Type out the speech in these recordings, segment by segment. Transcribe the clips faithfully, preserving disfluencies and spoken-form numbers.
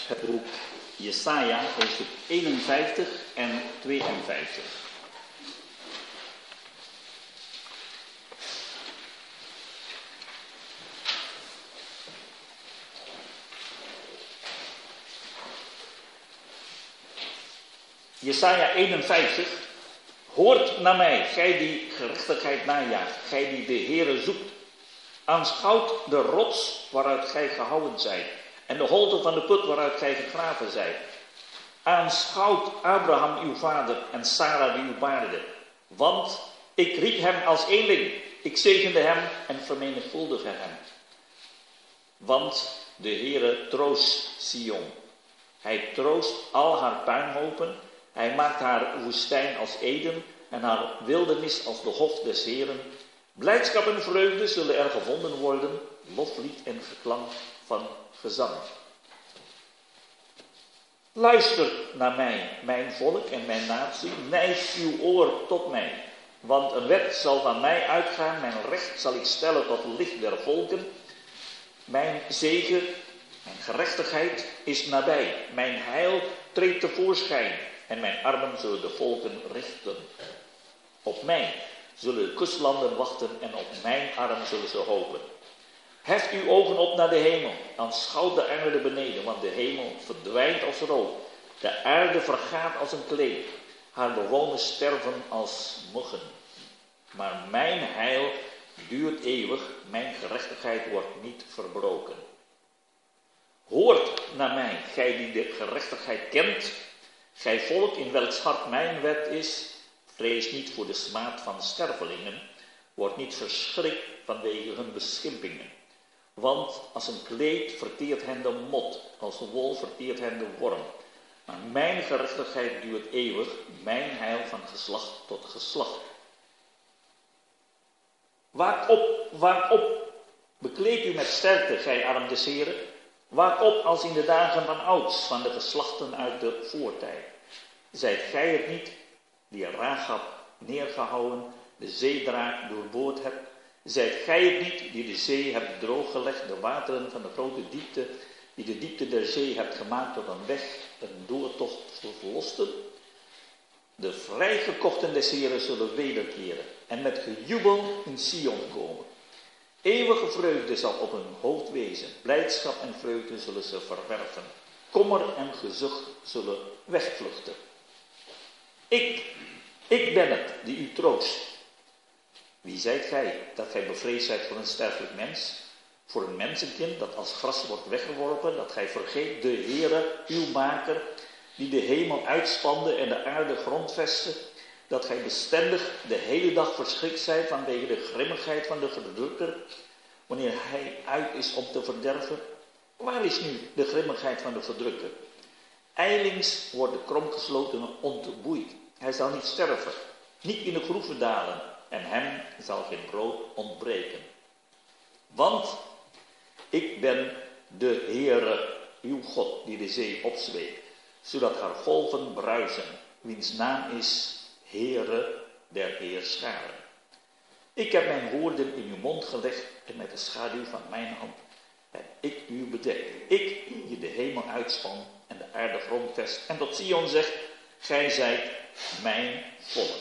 het boek Jesaja, hoofdstuk eenenvijftig en tweeënvijftig. Jesaja eenenvijftig. Hoort naar mij, gij die gerechtigheid najaagt, gij die de Heere zoekt. Aanschouwt de rots waaruit gij gehouden zijt, en de holte van de put waaruit gij gegraven zijt. Aanschouwt Abraham uw vader en Sara die u baarde. Want ik riep hem als eenling, ik zegende hem en vermenigvuldigde hem. Want de Heere troost Sion. Hij troost al haar puinhopen. Hij maakt haar woestijn als Eden en haar wildernis als de hof des Heeren. Blijdschap en vreugde zullen er gevonden worden, loflied en geklank van gezang. Luister naar mij, mijn volk en mijn natie, neig uw oor tot mij. Want een wet zal van mij uitgaan, mijn recht zal ik stellen tot licht der volken. Mijn zegen, mijn gerechtigheid is nabij, mijn heil treedt tevoorschijn. En mijn armen zullen de volken richten. Op mij zullen de kustlanden wachten en op mijn arm zullen ze hopen. Heft uw ogen op naar de hemel, aanschouwt de aarde beneden, want de hemel verdwijnt als rook. De aarde vergaat als een kleed, haar bewoners sterven als muggen. Maar mijn heil duurt eeuwig, mijn gerechtigheid wordt niet verbroken. Hoort naar mij, gij die de gerechtigheid kent. Gij volk in welks hart mijn wet is, vrees niet voor de smaad van stervelingen, word niet verschrikt vanwege hun beschimpingen. Want als een kleed verteert hen de mot, als de wol verteert hen de worm. Maar mijn gerechtigheid duurt eeuwig, mijn heil van geslacht tot geslacht. Waak op, waak op, bekleed u met sterkte, gij arm des Heren. Waak op als in de dagen van ouds, van de geslachten uit de voortijd. Zijt gij het niet, die Rahab neergehouden, de zeedraak doorboord hebt? Zijt gij het niet, die de zee hebt drooggelegd, de wateren van de grote diepte, die de diepte der zee hebt gemaakt tot een weg, een doortocht voor verlosten? De vrijgekochten des Heren zullen wederkeren en met gejubel in Sion komen. Eeuwige vreugde zal op hun hoofd wezen, blijdschap en vreugde zullen ze verwerven. Kommer en gezucht zullen wegvluchten. Ik, ik ben het die u troost. Wie zijt gij, dat gij bevreesd zijt voor een sterfelijk mens? Voor een mensenkind dat als gras wordt weggeworpen, dat gij vergeet de Heere, uw maker, die de hemel uitspande en de aarde grondvestte, dat gij bestendig de hele dag verschrikt zijt vanwege de grimmigheid van de verdrukker, wanneer hij uit is om te verderven? Waar is nu de grimmigheid van de verdrukker? Ijlings wordt de kromgeslotene ontboeid. Hij zal niet sterven, niet in de groeven dalen, en hem zal geen brood ontbreken. Want ik ben de Heere, uw God, die de zee opzweept, zodat haar golven bruisen, wiens naam is Heere der Heerscharen. Ik heb mijn woorden in uw mond gelegd en met de schaduw van mijn hand heb ik u bedekt. Ik die de hemel uitspan en de aarde grondvest en tot Sion zegt, gij zijt mijn volk.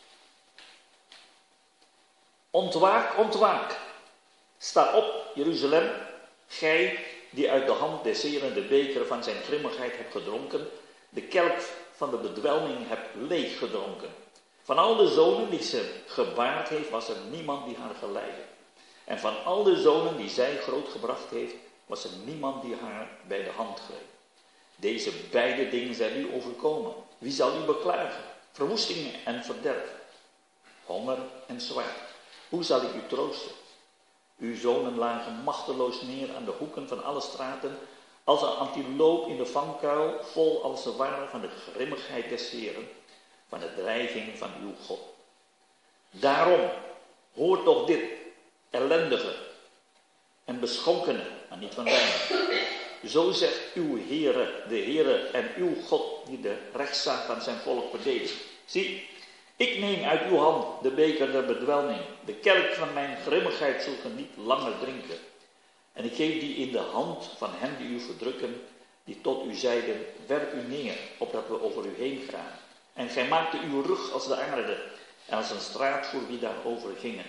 Ontwaak, ontwaak. Sta op, Jeruzalem, gij die uit de hand des Heren de beker van zijn grimmigheid hebt gedronken, de kelk van de bedwelming hebt leeg gedronken. Van al de zonen die ze gebaard heeft, was er niemand die haar geleidde. En van al de zonen die zij grootgebracht heeft, was er niemand die haar bij de hand greep. Deze beide dingen zijn u overkomen. Wie zal u beklagen? Verwoestingen en verderf. Honger en zwaard. Hoe zal ik u troosten? Uw zonen lagen machteloos neer aan de hoeken van alle straten, als een antiloop in de vangkuil, vol als ze waren van de grimmigheid des Heren, van de dreiging van uw God. Daarom, hoor toch dit, ellendige en beschonkene, maar niet van weinig. Zo zegt uw Heere, de Heere en uw God, die de rechtszaak van zijn volk verdedigt. Zie, ik neem uit uw hand de beker der bedwelming, de kelk van mijn grimmigheid zult ge niet langer drinken. En ik geef die in de hand van hen die u verdrukken, die tot u zeiden, werp u neer, opdat we over u heen gaan. En gij maakte uw rug als de aarde, en als een straat voor wie daarover gingen.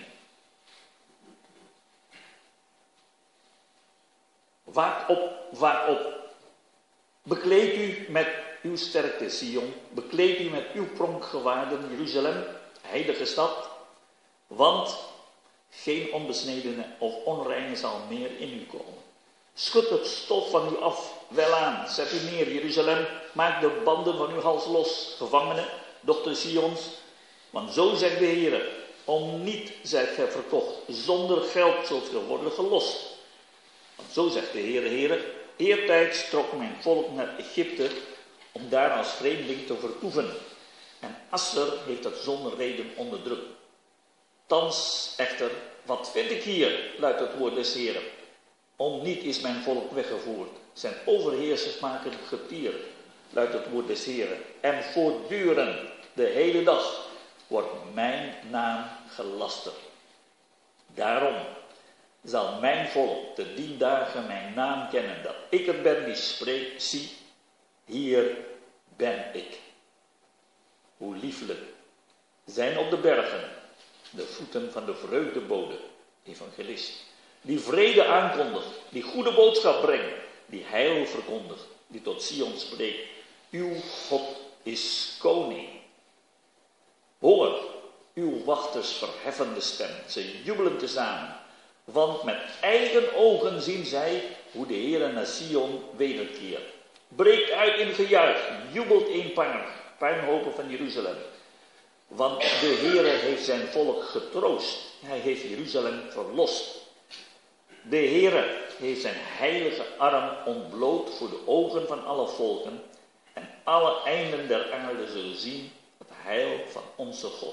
Waak op, waak op. Bekleed u met uw sterkte, Sion. Bekleed u met uw pronkgewaarden, Jeruzalem, heilige stad. Want geen onbesnedene of onreine zal meer in u komen. Schud het stof van u af, welaan, zet u neer, Jeruzalem. Maak de banden van uw hals los, gevangenen, dochter Sions. Want zo zegt de Heer, om niet zijt gij verkocht, zonder geld zult gij worden gelost. Want zo zegt de Heer, Heer, eertijds trok mijn volk naar Egypte, om daar als vreemdeling te vertoeven. En Asser heeft dat zonder reden onderdrukt. Thans echter, wat vind ik hier, luidt het woord des Heeren. Om niet is mijn volk weggevoerd. Zijn overheersers maken getier, luidt het woord des Heeren. En voortdurend, de hele dag, wordt mijn naam gelasterd. Daarom zal mijn volk te dien dagen mijn naam kennen, dat ik het ben die spreekt, zie, hier ben ik. Hoe lieflijk zijn op de bergen de voeten van de vreugdebode, evangelist, die vrede aankondigt, die goede boodschap brengt, die heil verkondigt, die tot Sion spreekt. Uw God is koning. Hoor, uw wachters verheffen de stem, ze jubelen tezamen, want met eigen ogen zien zij hoe de Heere naar Sion wederkeert. Breekt uit in gejuich, jubelt eenparig, puinhopen van Jeruzalem. Want de Heere heeft zijn volk getroost, hij heeft Jeruzalem verlost. De Heere heeft zijn heilige arm ontbloot voor de ogen van alle volken, en alle einden der aarde zullen zien het heil van onze God.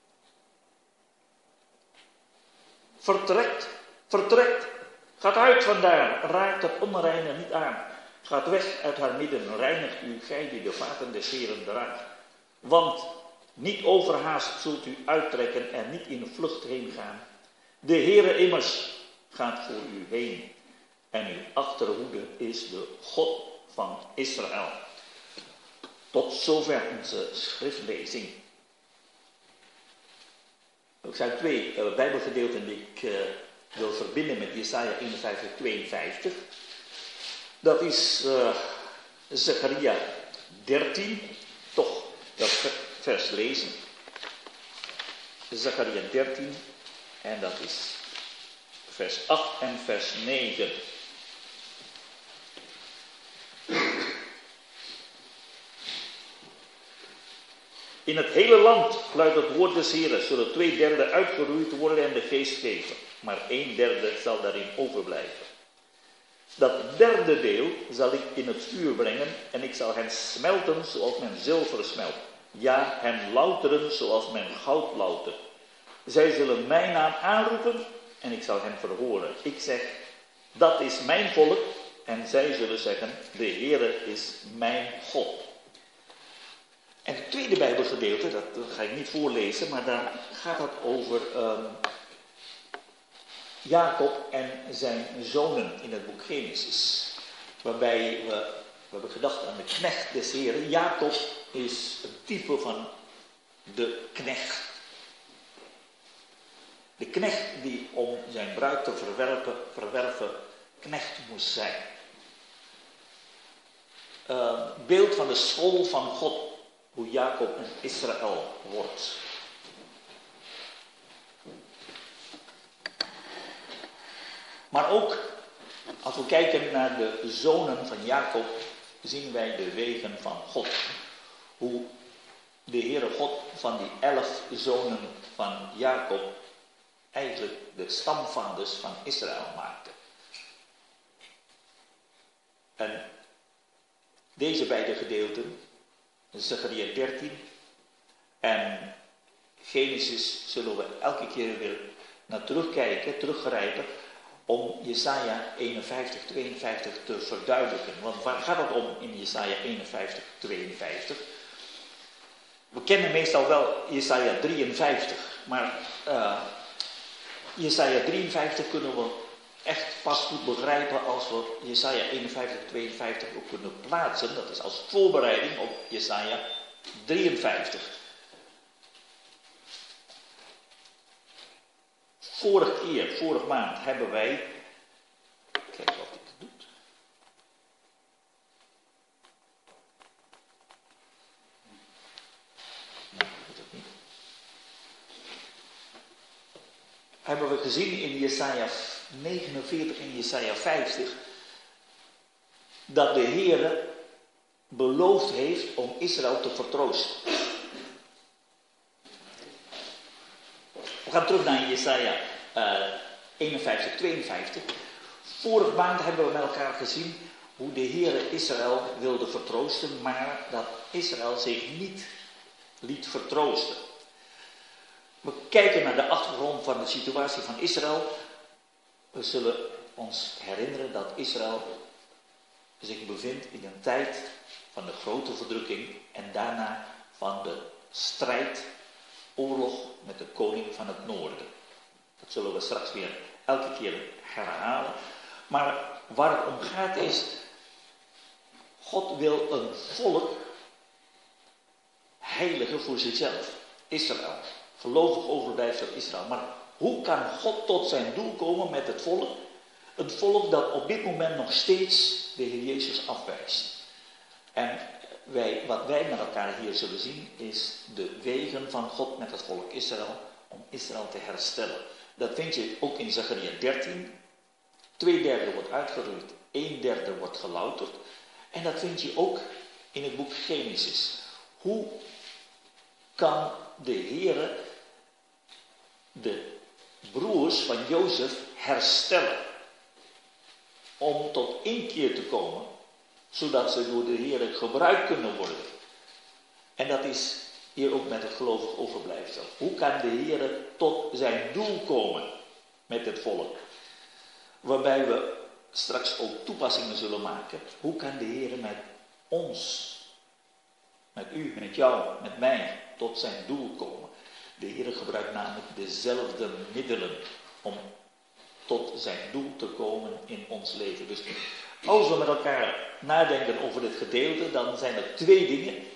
Vertrekt, vertrekt, gaat uit vandaar, raakt het onreine niet aan. Gaat weg uit haar midden, reinigt u, gij die de vaten des Heeren draagt. Want niet overhaast zult u uittrekken en niet in vlucht heen gaan. De Heere immers gaat voor u heen. En uw achterhoede is de God van Israël. Tot zover onze schriftlezing. Er zijn twee uh, bijbelgedeelten die ik uh, wil verbinden met Jesaja eenenvijftig, tweeënvijftig. Dat is uh, Zacharia dertien, toch dat vers lezen. Zacharia dertien, en dat is vers acht en vers negen. In het hele land, luidt het woord des Heeren, zullen twee derde uitgeroeid worden en de geest geven. Maar een derde zal daarin overblijven. Dat derde deel zal ik in het vuur brengen en ik zal hen smelten zoals men zilver smelt. Ja, hen louteren zoals men goud loutert. Zij zullen mijn naam aanroepen en ik zal hen verhoren. Ik zeg, dat is mijn volk. En zij zullen zeggen, de Heere is mijn God. En het tweede Bijbelgedeelte, dat ga ik niet voorlezen, maar daar gaat het over um, Jacob en zijn zonen in het boek Genesis. Waarbij we, we hebben gedacht aan de knecht des Heren. Jacob is een type van de knecht. De knecht die om zijn bruid te verwerpen, verwerven knecht moest zijn. Uh, beeld van de school van God. Hoe Jacob en Israël wordt. Maar ook, als we kijken naar de zonen van Jacob, zien wij de wegen van God. Hoe de Heere God van die elf zonen van Jacob eigenlijk de stamvaders van Israël maakte. En deze beide gedeelten, Zacharia dertien en Genesis, zullen we elke keer weer naar terugkijken, teruggrijpen, om Jesaja eenenvijftig, tweeënvijftig te verduidelijken. Want waar gaat het om in Jesaja eenenvijftig, tweeënvijftig? We kennen meestal wel Jesaja drieënvijftig, maar uh, Jesaja drieënvijftig kunnen we echt pas goed begrijpen als we Jesaja eenenvijftig, tweeënvijftig ook kunnen plaatsen. Dat is als voorbereiding op Jesaja drieënvijftig. Vorige keer, vorige maand, hebben wij... Kijk of dit het doet. Nee, dat doet het niet. Hebben we gezien in Jesaja negenenveertig en Jesaja vijftig... dat de Heere beloofd heeft om Israël te vertroosten. We gaan terug naar Jesaja uh, eenenvijftig, tweeënvijftig. Vorige maand hebben we met elkaar gezien hoe de Heere Israël wilde vertroosten, maar dat Israël zich niet liet vertroosten. We kijken naar de achtergrond van de situatie van Israël. We zullen ons herinneren dat Israël zich bevindt in een tijd van de grote verdrukking en daarna van de strijd, oorlog met de koning van het noorden. Dat zullen we straks weer elke keer herhalen. Maar waar het om gaat is, God wil een volk heiligen voor zichzelf. Israël. Gelovig overblijfsel Israël. Maar hoe kan God tot zijn doel komen met het volk? Een volk dat op dit moment nog steeds de Heer Jezus afwijst. En wij, wat wij met elkaar hier zullen zien is de wegen van God met het volk Israël om Israël te herstellen. Dat vind je ook in Zacharia dertien. Twee derde wordt uitgeroeid, een derde wordt gelouterd. En dat vind je ook in het boek Genesis. Hoe kan de Heere de broers van Jozef herstellen? Om tot inkeer te komen, zodat ze door de Heere gebruikt kunnen worden. En dat is hier ook met het gelovig overblijfsel. Hoe kan de Heere tot zijn doel komen met het volk? Waarbij we straks ook toepassingen zullen maken. Hoe kan de Heere met ons, met u, met jou, met mij, tot zijn doel komen? De Heere gebruikt namelijk dezelfde middelen om tot zijn doel te komen in ons leven. Dus als we met elkaar nadenken over dit gedeelte, dan zijn er twee dingen.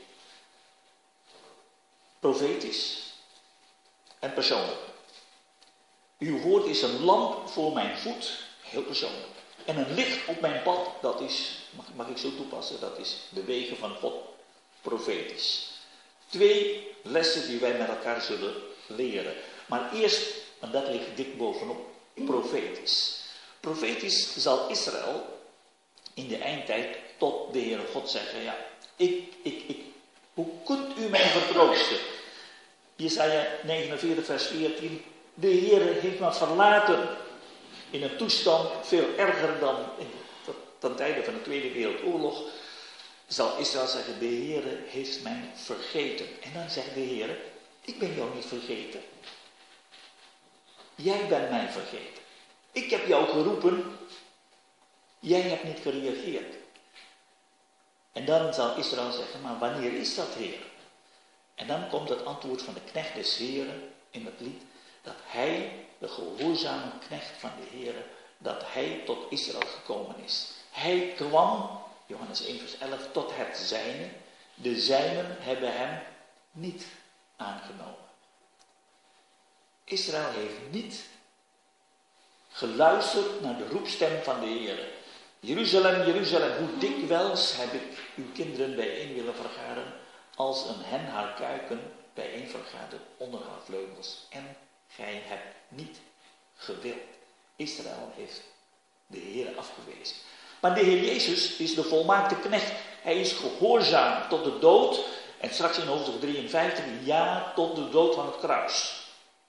Profetisch en persoonlijk. Uw woord is een lamp voor mijn voet, heel persoonlijk. En een licht op mijn pad, dat is, mag, mag ik zo toepassen, dat is de wegen van God, profetisch. Twee lessen die wij met elkaar zullen leren. Maar eerst, en dat ligt dik bovenop, profetisch. Profetisch zal Israël in de eindtijd tot de Heere God zeggen, ja, ik, ik, ik, hoe kunt u mij vertroosten? Jesaja negenenveertig vers veertien, de Heere heeft me verlaten in een toestand veel erger dan in, ten tijde van de Tweede Wereldoorlog. Zal Israël zeggen, de Heere heeft mij vergeten. En dan zegt de Heere, ik ben jou niet vergeten. Jij bent mij vergeten. Ik heb jou geroepen, jij hebt niet gereageerd. En dan zal Israël zeggen, maar wanneer is dat, Heer? En dan komt het antwoord van de knecht des Heeren in het lied, dat hij, de gehoorzame knecht van de Heere, dat hij tot Israël gekomen is. Hij kwam, Johannes één vers elf, tot het zijne. De zijnen hebben hem niet aangenomen. Israël heeft niet geluisterd naar de roepstem van de Heere. Jeruzalem, Jeruzalem, hoe dikwijls heb ik uw kinderen bijeen willen vergaren, als een hen haar kuiken bijeen vergadert onder haar vleugels. En gij hebt niet gewild. Israël heeft de Heere afgewezen. Maar de Heer Jezus is de volmaakte knecht. Hij is gehoorzaam tot de dood. En straks in hoofdstuk drieënvijftig, ja, tot de dood van het kruis.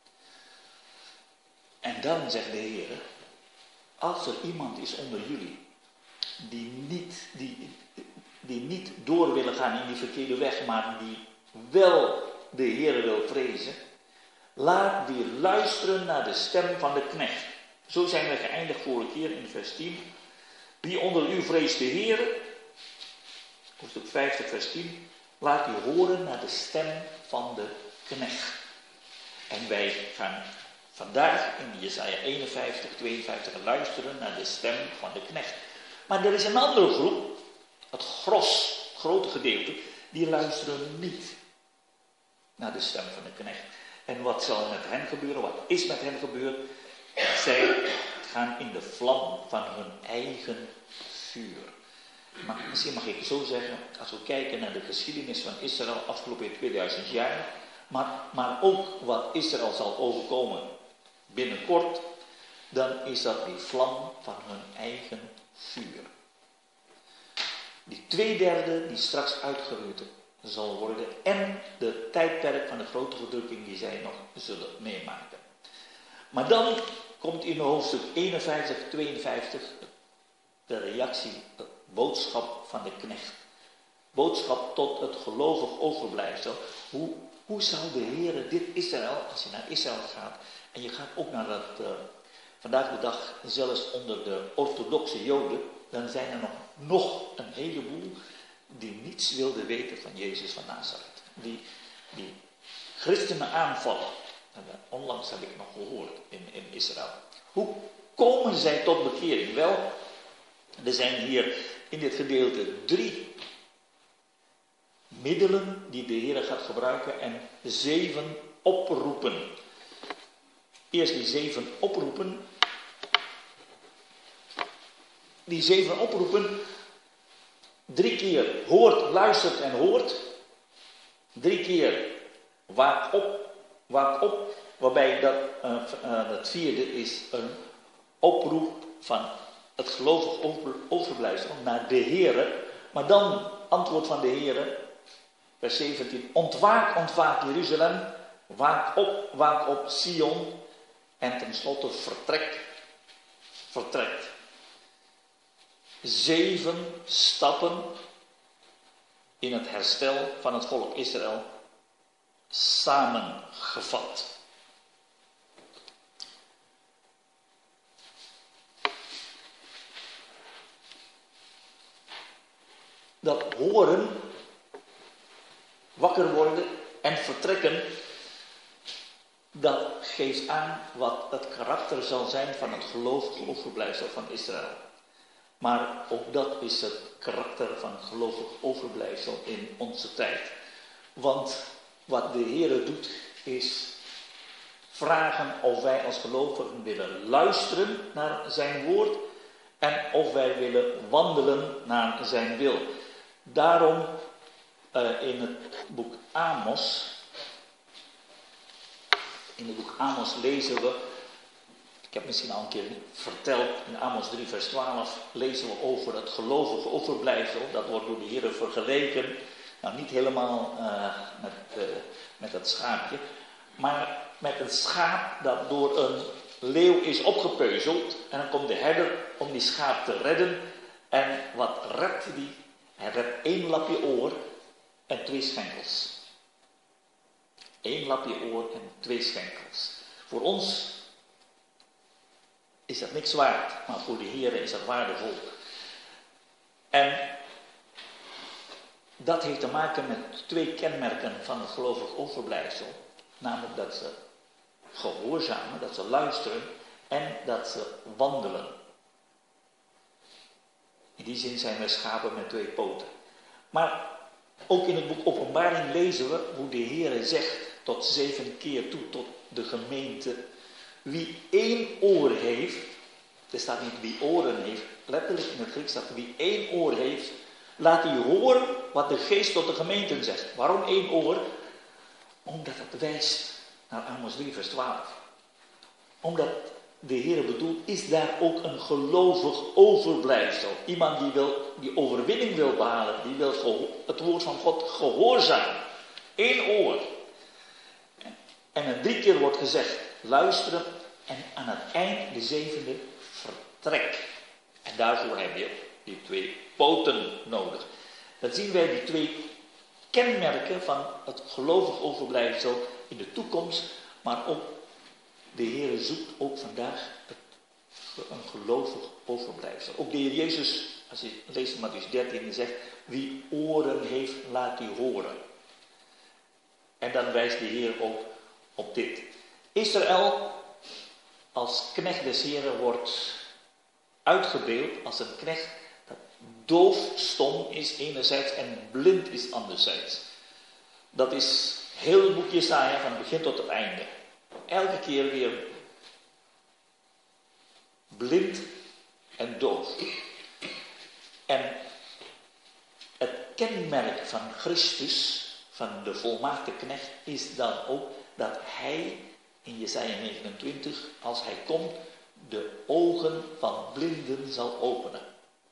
En dan zegt de Heer, als er iemand is onder jullie die niet, die, die niet door willen gaan in die verkeerde weg, maar die wel de Heer wil vrezen, laat die luisteren naar de stem van de knecht. Zo zijn we geëindigd vorige keer in vers tien. Wie onder u vreest de Heer, hoofdstuk vijftig vers tien, laat u horen naar de stem van de knecht. En wij gaan Vandaag in Jesaja eenenvijftig, tweeënvijftig luisteren naar de stem van de knecht. Maar er is een andere groep, het gros, het grote gedeelte, die luisteren niet naar de stem van de knecht. En wat zal met hen gebeuren? Wat is met hen gebeurd? Zij gaan in de vlam van hun eigen vuur. Maar misschien mag ik zo zeggen, als we kijken naar de geschiedenis van Israël afgelopen tweeduizend jaar, maar, maar ook wat Israël zal overkomen binnenkort, dan is dat die vlam van hun eigen vuur. Die twee derde die straks uitgeroeid zal worden en de tijdperk van de grote verdrukking die zij nog zullen meemaken. Maar dan komt in hoofdstuk eenenvijftig, tweeënvijftig de reactie, de boodschap van de knecht. Boodschap tot het gelovig overblijfsel. Hoe, hoe zal de Heer dit Israël, als je naar Israël gaat, en je gaat ook naar dat, uh, vandaag de dag zelfs onder de orthodoxe Joden, dan zijn er nog, nog een heleboel die niets wilden weten van Jezus van Nazareth. Die, die christenen aanvallen. En onlangs heb ik nog gehoord in, in Israël. Hoe komen zij tot bekering? Wel, er zijn hier in dit gedeelte drie middelen die de Heer gaat gebruiken en zeven oproepen. Eerst die zeven oproepen. Die zeven oproepen, drie keer hoort, luistert en hoort. Drie keer waak op, waak op. Waarbij dat, uh, uh, het vierde is een oproep van het gelovig over, overblijfsel naar de Heere. Maar dan antwoord van de Heere, vers zeventien. Ontwaak, ontwaak Jeruzalem. Waak op, waak op Sion. En tenslotte vertrek, vertrekt. Zeven stappen in het herstel van het volk Israël samengevat. Dat horen, wakker worden en vertrekken, dat geeft aan wat het karakter zal zijn van het gelovig overblijfsel van Israël. Maar ook dat is het karakter van gelovig overblijfsel in onze tijd. Want wat de Heer doet is vragen of wij als gelovigen willen luisteren naar zijn woord en of wij willen wandelen naar zijn wil. Daarom uh, in het boek Amos, in het boek Amos lezen we, ik heb misschien al een keer verteld, in Amos drie vers twaalf lezen we over het gelovige overblijfsel. Dat wordt door de Heer vergeleken, nou niet helemaal uh, met, uh, met het schaapje, maar met een schaap dat door een leeuw is opgepeuzeld. En dan komt de herder om die schaap te redden. En wat redt hij? Hij redt één lapje oor en twee schenkels. Eén lapje oor en twee schenkels. Voor ons is dat niks waard, maar voor de Heer is dat waardevol. En dat heeft te maken met twee kenmerken van het gelovig overblijfsel. Namelijk dat ze gehoorzamen, dat ze luisteren en dat ze wandelen. In die zin zijn wij schapen met twee poten. Maar ook in het boek Openbaring lezen we hoe de Heer zegt tot zeven keer toe tot de gemeente. Wie één oor heeft, er staat niet wie oren heeft, letterlijk in het Grieks staat wie één oor heeft, laat hij horen wat de geest tot de gemeenten zegt. Waarom één oor? Omdat het wijst naar Amos drie vers twaalf. Omdat de Heer bedoelt, is daar ook een gelovig overblijfsel. Iemand die, wil, die overwinning wil behalen, die wil geho- het woord van God gehoorzamen. Eén oor. En er drie keer wordt gezegd, luisteren en aan het eind de zevende vertrek. En daarvoor heb je die twee poten nodig. Dan zien wij die twee kenmerken van het gelovig overblijfsel in de toekomst, maar ook de Heer zoekt ook vandaag een gelovig overblijfsel. Ook de Heer Jezus, als je leest in Mattheüs dertien, zegt, wie oren heeft, laat die horen. En dan wijst de Heer ook op dit. Israël als knecht des Heren wordt uitgebeeld als een knecht dat doof, stom is enerzijds en blind is anderzijds. Dat is heel het boek Jesaja van het begin tot het einde. Elke keer weer blind en doof. En het kenmerk van Christus, van de volmaakte knecht, is dan ook dat hij in Jesaja negenentwintig, als hij komt, de ogen van blinden zal openen.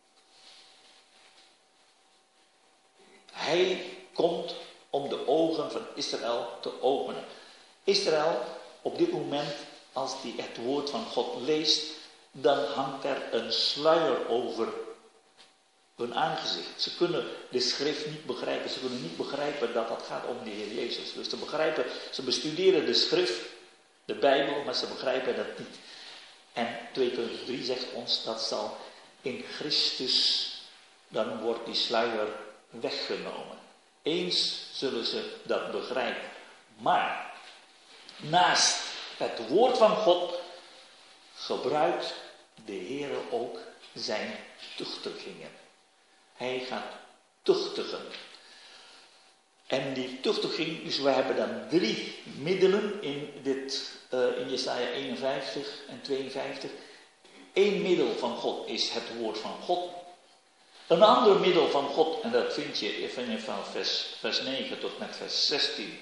Hij komt om de ogen van Israël te openen. Israël, op dit moment, als hij het woord van God leest, dan hangt er een sluier over hun aangezicht. Ze kunnen de schrift niet begrijpen. Ze kunnen niet begrijpen dat het gaat om de Heer Jezus. Dus ze begrijpen, ze bestuderen de schrift, de Bijbel, maar ze begrijpen dat niet. En twee Korintiërs drie zegt ons dat zal in Christus, dan wordt die sluier weggenomen. Eens zullen ze dat begrijpen. Maar naast het woord van God gebruikt de Heer ook zijn tuchtigingen. Hij gaat tuchtigen. En die tuchtiging, dus we hebben dan drie middelen in, dit, uh, in Jesaja eenenvijftig en tweeënvijftig. Eén middel van God is het woord van God. Een ander middel van God, en dat vind je even van vers, vers negen tot met vers zestien.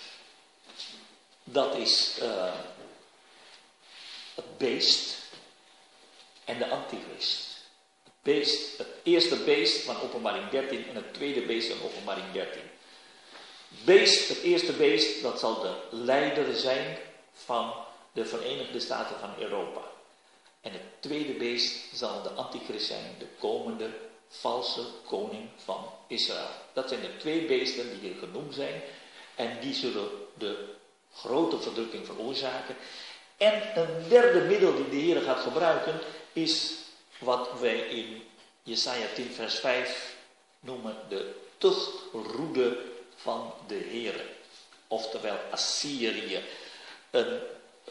Dat is uh, het beest en de antichrist. Het beest, het eerste beest van Openbaring dertien en het tweede beest van Openbaring dertien. Beest, het eerste beest, dat zal de leider zijn van de Verenigde Staten van Europa. En het tweede beest zal de antichrist zijn, de komende valse koning van Israël. Dat zijn de twee beesten die hier genoemd zijn. En die zullen de grote verdrukking veroorzaken. En een derde middel die de Heer gaat gebruiken is wat wij in Jesaja tien vers vijf noemen de tuchtroede van de Heer. Oftewel Assyrië. Een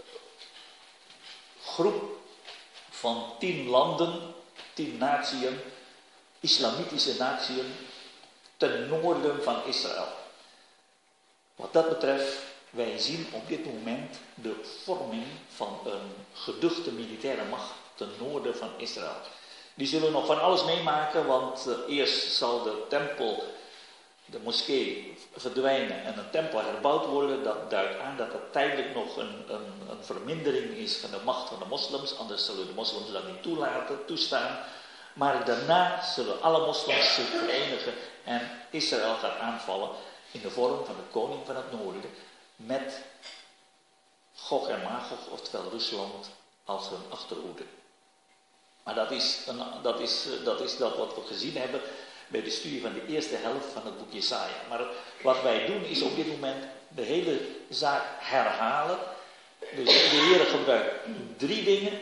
groep van tien landen, tien natieën, islamitische natieën, ten noorden van Israël. Wat dat betreft, wij zien op dit moment de vorming van een geduchte militaire macht ten noorden van Israël. Die zullen nog van alles meemaken, want uh, eerst zal de tempel, de moskee verdwijnen en een tempel herbouwd worden. Dat duidt aan dat er tijdelijk nog een, een, een vermindering is van de macht van de moslims. Anders zullen de moslims dat niet toelaten, toestaan. Maar daarna zullen alle moslims zich verenigen en Israël gaat aanvallen in de vorm van de koning van het noorden. Met Gog en Magog, oftewel Rusland, als hun achterhoede. Maar dat is, een, dat, is, dat is dat wat we gezien hebben bij de studie van de eerste helft van het boek Jesaja. Maar wat wij doen is op dit moment de hele zaak herhalen. Dus de Heer gebruikt drie dingen.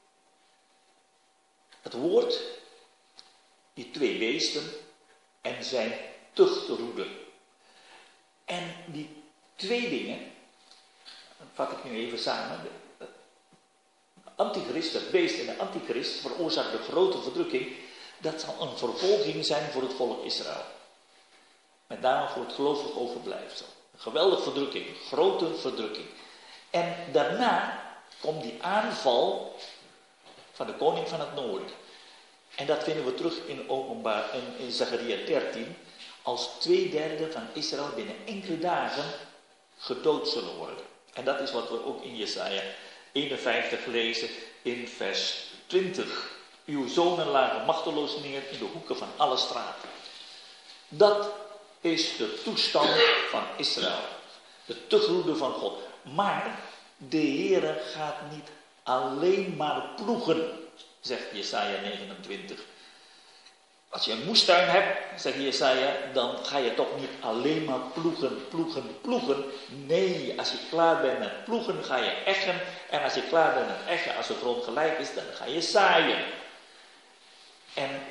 Het woord, die twee beesten en zijn tuchtroede. En die twee dingen, dat vat ik nu even samen. De antichrist, het beest en de antichrist veroorzaakt de grote verdrukking. Dat zal een vervolging zijn voor het volk Israël. Met name voor het gelovig overblijfsel. Een geweldige verdrukking, een grote verdrukking. En daarna komt die aanval van de koning van het noorden. En dat vinden we terug in openbaar in, in Zacharia dertien. Als twee derde van Israël binnen enkele dagen gedood zullen worden. En dat is wat we ook in Jesaja eenenvijftig lezen in vers twintig. Uw zonen lagen machteloos neer in de hoeken van alle straten. Dat is de toestand van Israël. De tuchtroede van God. Maar de Heere gaat niet alleen maar ploegen, zegt Jesaja negenentwintig. Als je een moestuin hebt, zegt Jesaja, dan ga je toch niet alleen maar ploegen, ploegen, ploegen. Nee, als je klaar bent met ploegen, ga je eggen. En als je klaar bent met eggen, als de grond gelijk is, dan ga je zaaien. En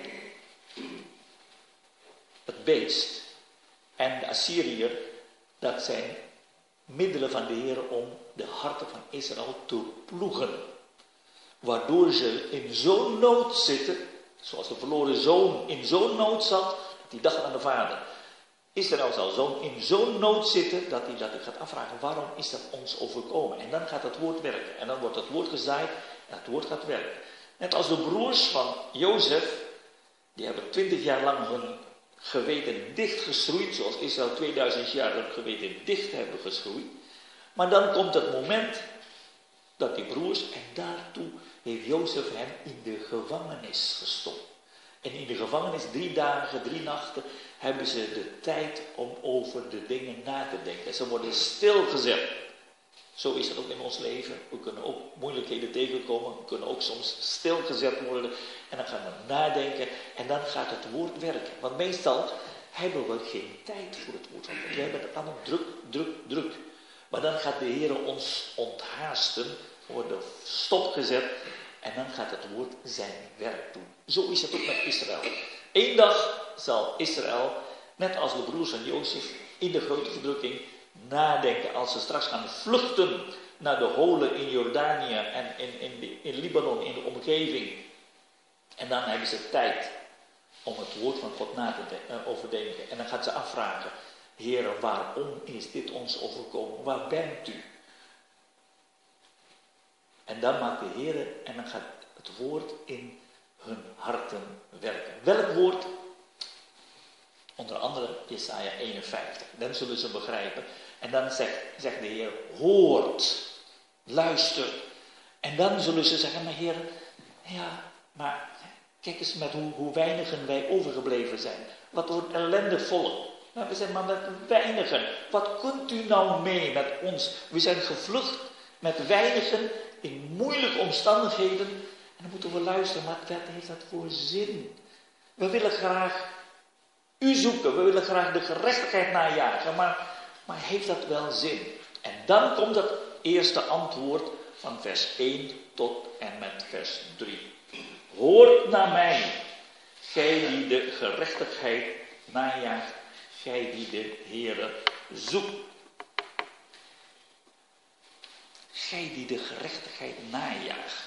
het beest en de Assyriër, dat zijn middelen van de Heer om de harten van Israël te ploegen. Waardoor ze in zo'n nood zitten, zoals de verloren zoon in zo'n nood zat, dat hij dacht aan de vader. Israël zal zo'n in zo'n nood zitten, dat hij, dat hij gaat afvragen, waarom is dat ons overkomen? En dan gaat het woord werken. En dan wordt het woord gezaaid en het woord gaat werken. Net als de broers van Jozef, die hebben twintig jaar lang hun geweten dichtgeschroeid, zoals Israël tweeduizend jaar hun geweten dicht hebben geschroeid. Maar dan komt het moment dat die broers, en daartoe heeft Jozef hem in de gevangenis gestopt. En in de gevangenis, drie dagen, drie nachten, hebben ze de tijd om over de dingen na te denken. Ze worden stilgezet. Zo is het ook in ons leven. We kunnen ook moeilijkheden tegenkomen. We kunnen ook soms stilgezet worden. En dan gaan we nadenken. En dan gaat het woord werken. Want meestal hebben we geen tijd voor het woord. Want we hebben het allemaal druk, druk, druk. Maar dan gaat de Heer ons onthaasten. We worden stopgezet. En dan gaat het woord zijn werk doen. Zo is het ook met Israël. Eén dag zal Israël, net als de broers van Jozef, in de grote verdrukking nadenken. Als ze straks gaan vluchten naar de holen in Jordanië en in, in, de, in Libanon, in de omgeving. En dan hebben ze tijd om het woord van God na te de, uh, overdenken. En dan gaat ze afvragen, Heer, waarom is dit ons overkomen? Waar bent u? En dan maakt de Heer, en dan gaat het woord in hun harten werken. Welk woord? Onder andere Jesaja eenenvijftig. Dan zullen ze begrijpen. En dan zegt, zegt de Heer, hoort, luister. En dan zullen ze zeggen, maar Heer, ja, maar kijk eens met hoe, hoe weinigen wij overgebleven zijn. Wat een ellendig volk. Nou, we zijn maar met weinigen. Wat kunt u nou mee met ons? We zijn gevlucht met weinigen in moeilijke omstandigheden. En dan moeten we luisteren, maar wat heeft dat voor zin? We willen graag u zoeken, we willen graag de gerechtigheid najagen, maar, maar heeft dat wel zin? En dan komt het eerste antwoord van vers één tot en met vers drie. Hoort naar mij, gij die de gerechtigheid najaagt, gij die de Heere zoekt. Gij die de gerechtigheid najaagt.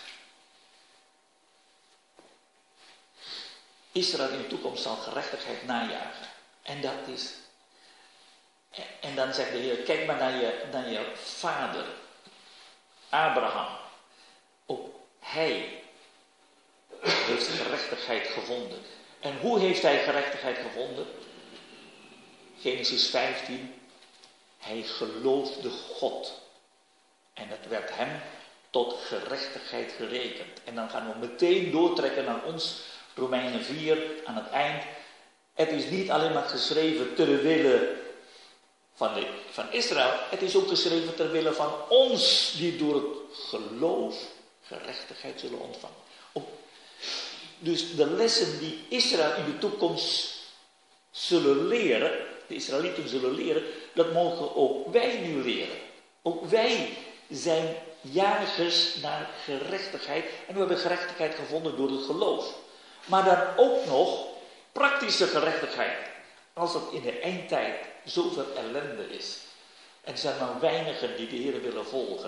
Israël in de toekomst zal gerechtigheid najagen. En dat is... En dan zegt de Heer, kijk maar naar je, naar je vader, Abraham. Ook hij heeft gerechtigheid gevonden. En hoe heeft hij gerechtigheid gevonden? Genesis vijftien. Hij geloofde God. En het werd hem tot gerechtigheid gerekend. En dan gaan we meteen doortrekken naar ons, Romeinen vier, aan het eind. Het is niet alleen maar geschreven ter wille van, de, van Israël. Het is ook geschreven ter wille van ons, die door het geloof gerechtigheid zullen ontvangen. Ook, dus de lessen die Israël in de toekomst zullen leren, de Israëlieten zullen leren, dat mogen ook wij nu leren. Ook wij zijn jagers naar gerechtigheid. En we hebben gerechtigheid gevonden door het geloof. Maar dan ook nog praktische gerechtigheid. Als het in de eindtijd zoveel ellende is. En er zijn maar weinigen die de Heer willen volgen.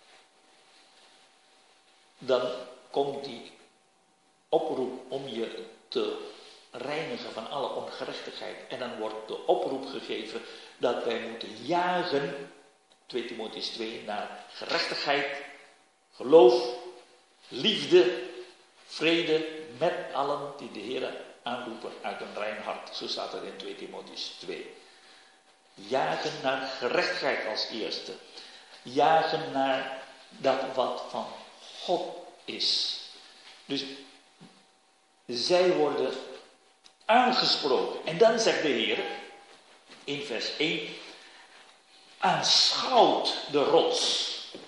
Dan komt die oproep om je te reinigen van alle ongerechtigheid. En dan wordt de oproep gegeven dat wij moeten jagen, twee Timotheüs twee, naar gerechtigheid, geloof, liefde, vrede met allen die de Heer aanroepen uit een rein hart. Zo staat het in twee Timotheüs twee. Jagen naar gerechtigheid als eerste. Jagen naar dat wat van God is. Dus zij worden aangesproken. En dan zegt de Heer in vers één: aanschouwt de rots.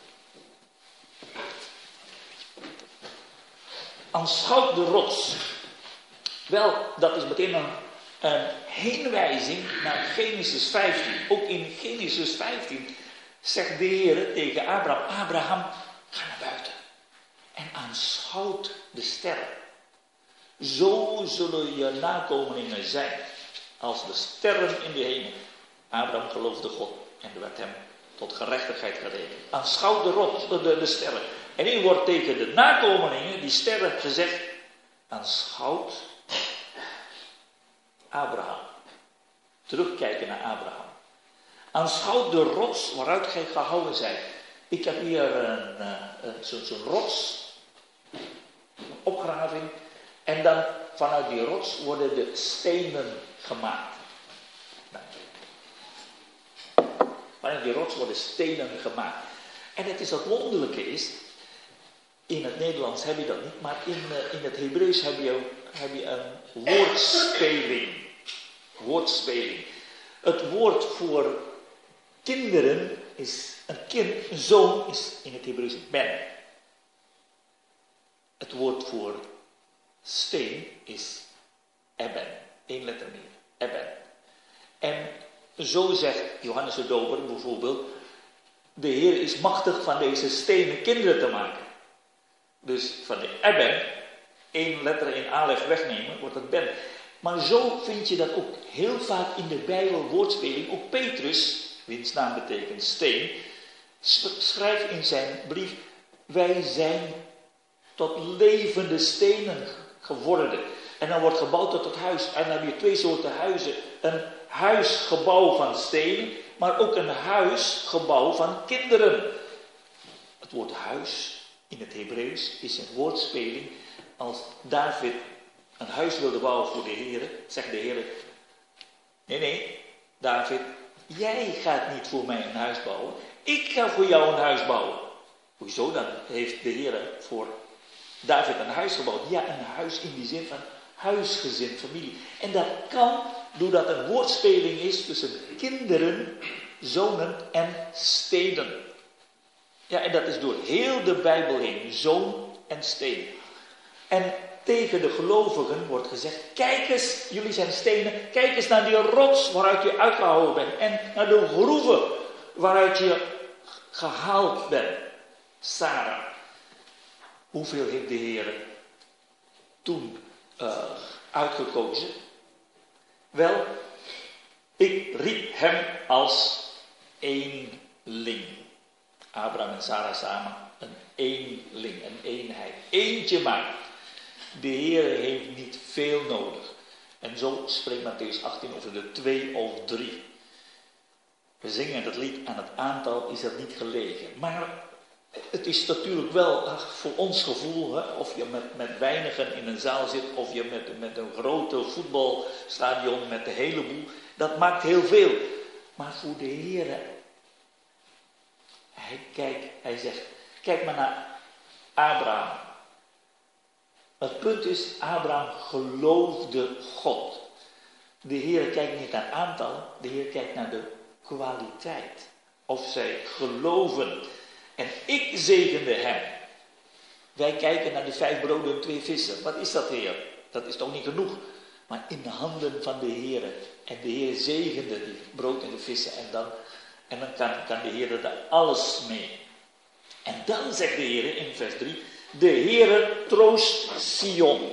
Aanschouwt de rots. Wel, dat is meteen een, een heenwijzing naar Genesis vijftien. Ook in Genesis vijftien zegt de Heer tegen Abraham: Abraham, ga naar buiten en aanschouwt de sterren. Zo zullen je nakomelingen zijn als de sterren in de hemel. Abraham geloofde God en er werd hem tot gerechtigheid gerekend. Aanschouw de rots, de, de sterren. En hier wordt tegen de nakomelingen, die sterren, gezegd, aanschouwt Abraham. Terugkijken naar Abraham. Aanschouw de rots waaruit gij gehouden zijt. Ik heb hier een, een, zo'n zo rots, een opgraving. En dan vanuit die rots worden de stenen gemaakt. Vanuit die rots worden stenen gemaakt. En het is wat wonderlijke is, in het Nederlands heb je dat niet, maar in, uh, in het Hebreeuws heb je, heb je een woordspeling. Woordspeling. Het woord voor kinderen is, een kind, een zoon is in het Hebreeuws ben. Het woord voor steen is eben. Eén letter meer. Eben. En zo zegt Johannes de Doper bijvoorbeeld, de Heer is machtig van deze stenen kinderen te maken. Dus van de eben, één letter in alef wegnemen, wordt het ben. Maar zo vind je dat ook heel vaak in de Bijbel woordspeling. Ook Petrus, wiens naam betekent steen, schrijft in zijn brief, wij zijn tot levende stenen geworden. En dan wordt gebouwd tot het huis. En dan heb je twee soorten huizen. Een huisgebouw van stenen, maar ook een huisgebouw van kinderen. Het woord huis in het Hebreeuws is een woordspeling. Als David een huis wilde bouwen voor de Heer, zegt de Heer, nee, nee, David, jij gaat niet voor mij een huis bouwen. Ik ga voor jou een huis bouwen. Hoezo dan? Heeft de Heer voor David een huis gebouwd? Ja, een huis in die zin van huisgezin, familie. En dat kan doordat een woordspeling is tussen kinderen, zonen en steden. Ja, en dat is door heel de Bijbel heen. Zoon en steen. En tegen de gelovigen wordt gezegd, kijk eens, jullie zijn stenen, kijk eens naar die rots waaruit je uitgehouden bent. En naar de groeven waaruit je gehaald bent. Sarah. Hoeveel heeft de Heer toen uh, uitgekozen? Wel, ik riep hem als eenling. Abraham en Sarah samen, een eenling, een eenheid. Eentje maar. De Heer heeft niet veel nodig. En zo spreekt Mattheüs achttien over de twee of drie. We zingen het lied, aan het aantal is er niet gelegen. Maar het is natuurlijk wel ach, voor ons gevoel, hè, of je met, met weinigen in een zaal zit, of je met, met een grote voetbalstadion met de hele boel. Dat maakt heel veel. Maar voor de Heer, hij kijkt, hij zegt, kijk maar naar Abraham. Het punt is, Abraham geloofde God. De Heer kijkt niet naar aantallen, de Heer kijkt naar de kwaliteit. Of zij geloven. En ik zegende hem. Wij kijken naar de vijf broden en twee vissen. Wat is dat, Heer? Dat is toch niet genoeg? Maar in de handen van de Heer. En de Heer zegende die brood en de vissen. En dan, en dan kan, kan de Heer daar alles mee. En dan zegt de Heer in vers drie. De Heere troost Sion.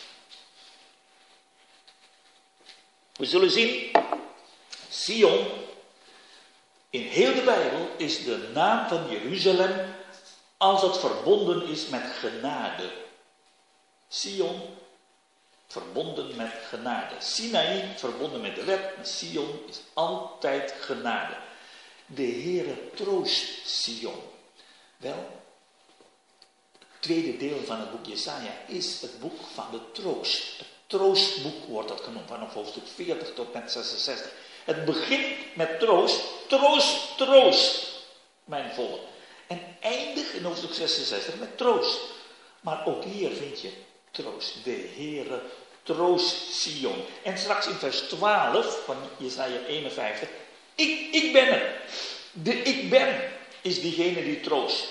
We zullen zien, Sion, in heel de Bijbel is de naam van Jeruzalem als het verbonden is met genade. Sion, verbonden met genade. Sinaï, verbonden met de wet. Sion is altijd genade. De Heere troost Sion. Wel, het tweede deel van het boek Jesaja is het boek van de troost. Het troostboek wordt dat genoemd, vanaf hoofdstuk veertig tot met zesenzestig. Het begint met troost, troost, troost, mijn volk. En eindigt in hoofdstuk zesenzestig met troost. Maar ook hier vind je troost. De Heere troost Sion. En straks in vers twaalf van Jesaja eenenvijftig. Ik, ik ben er. De ik ben is diegene die troost.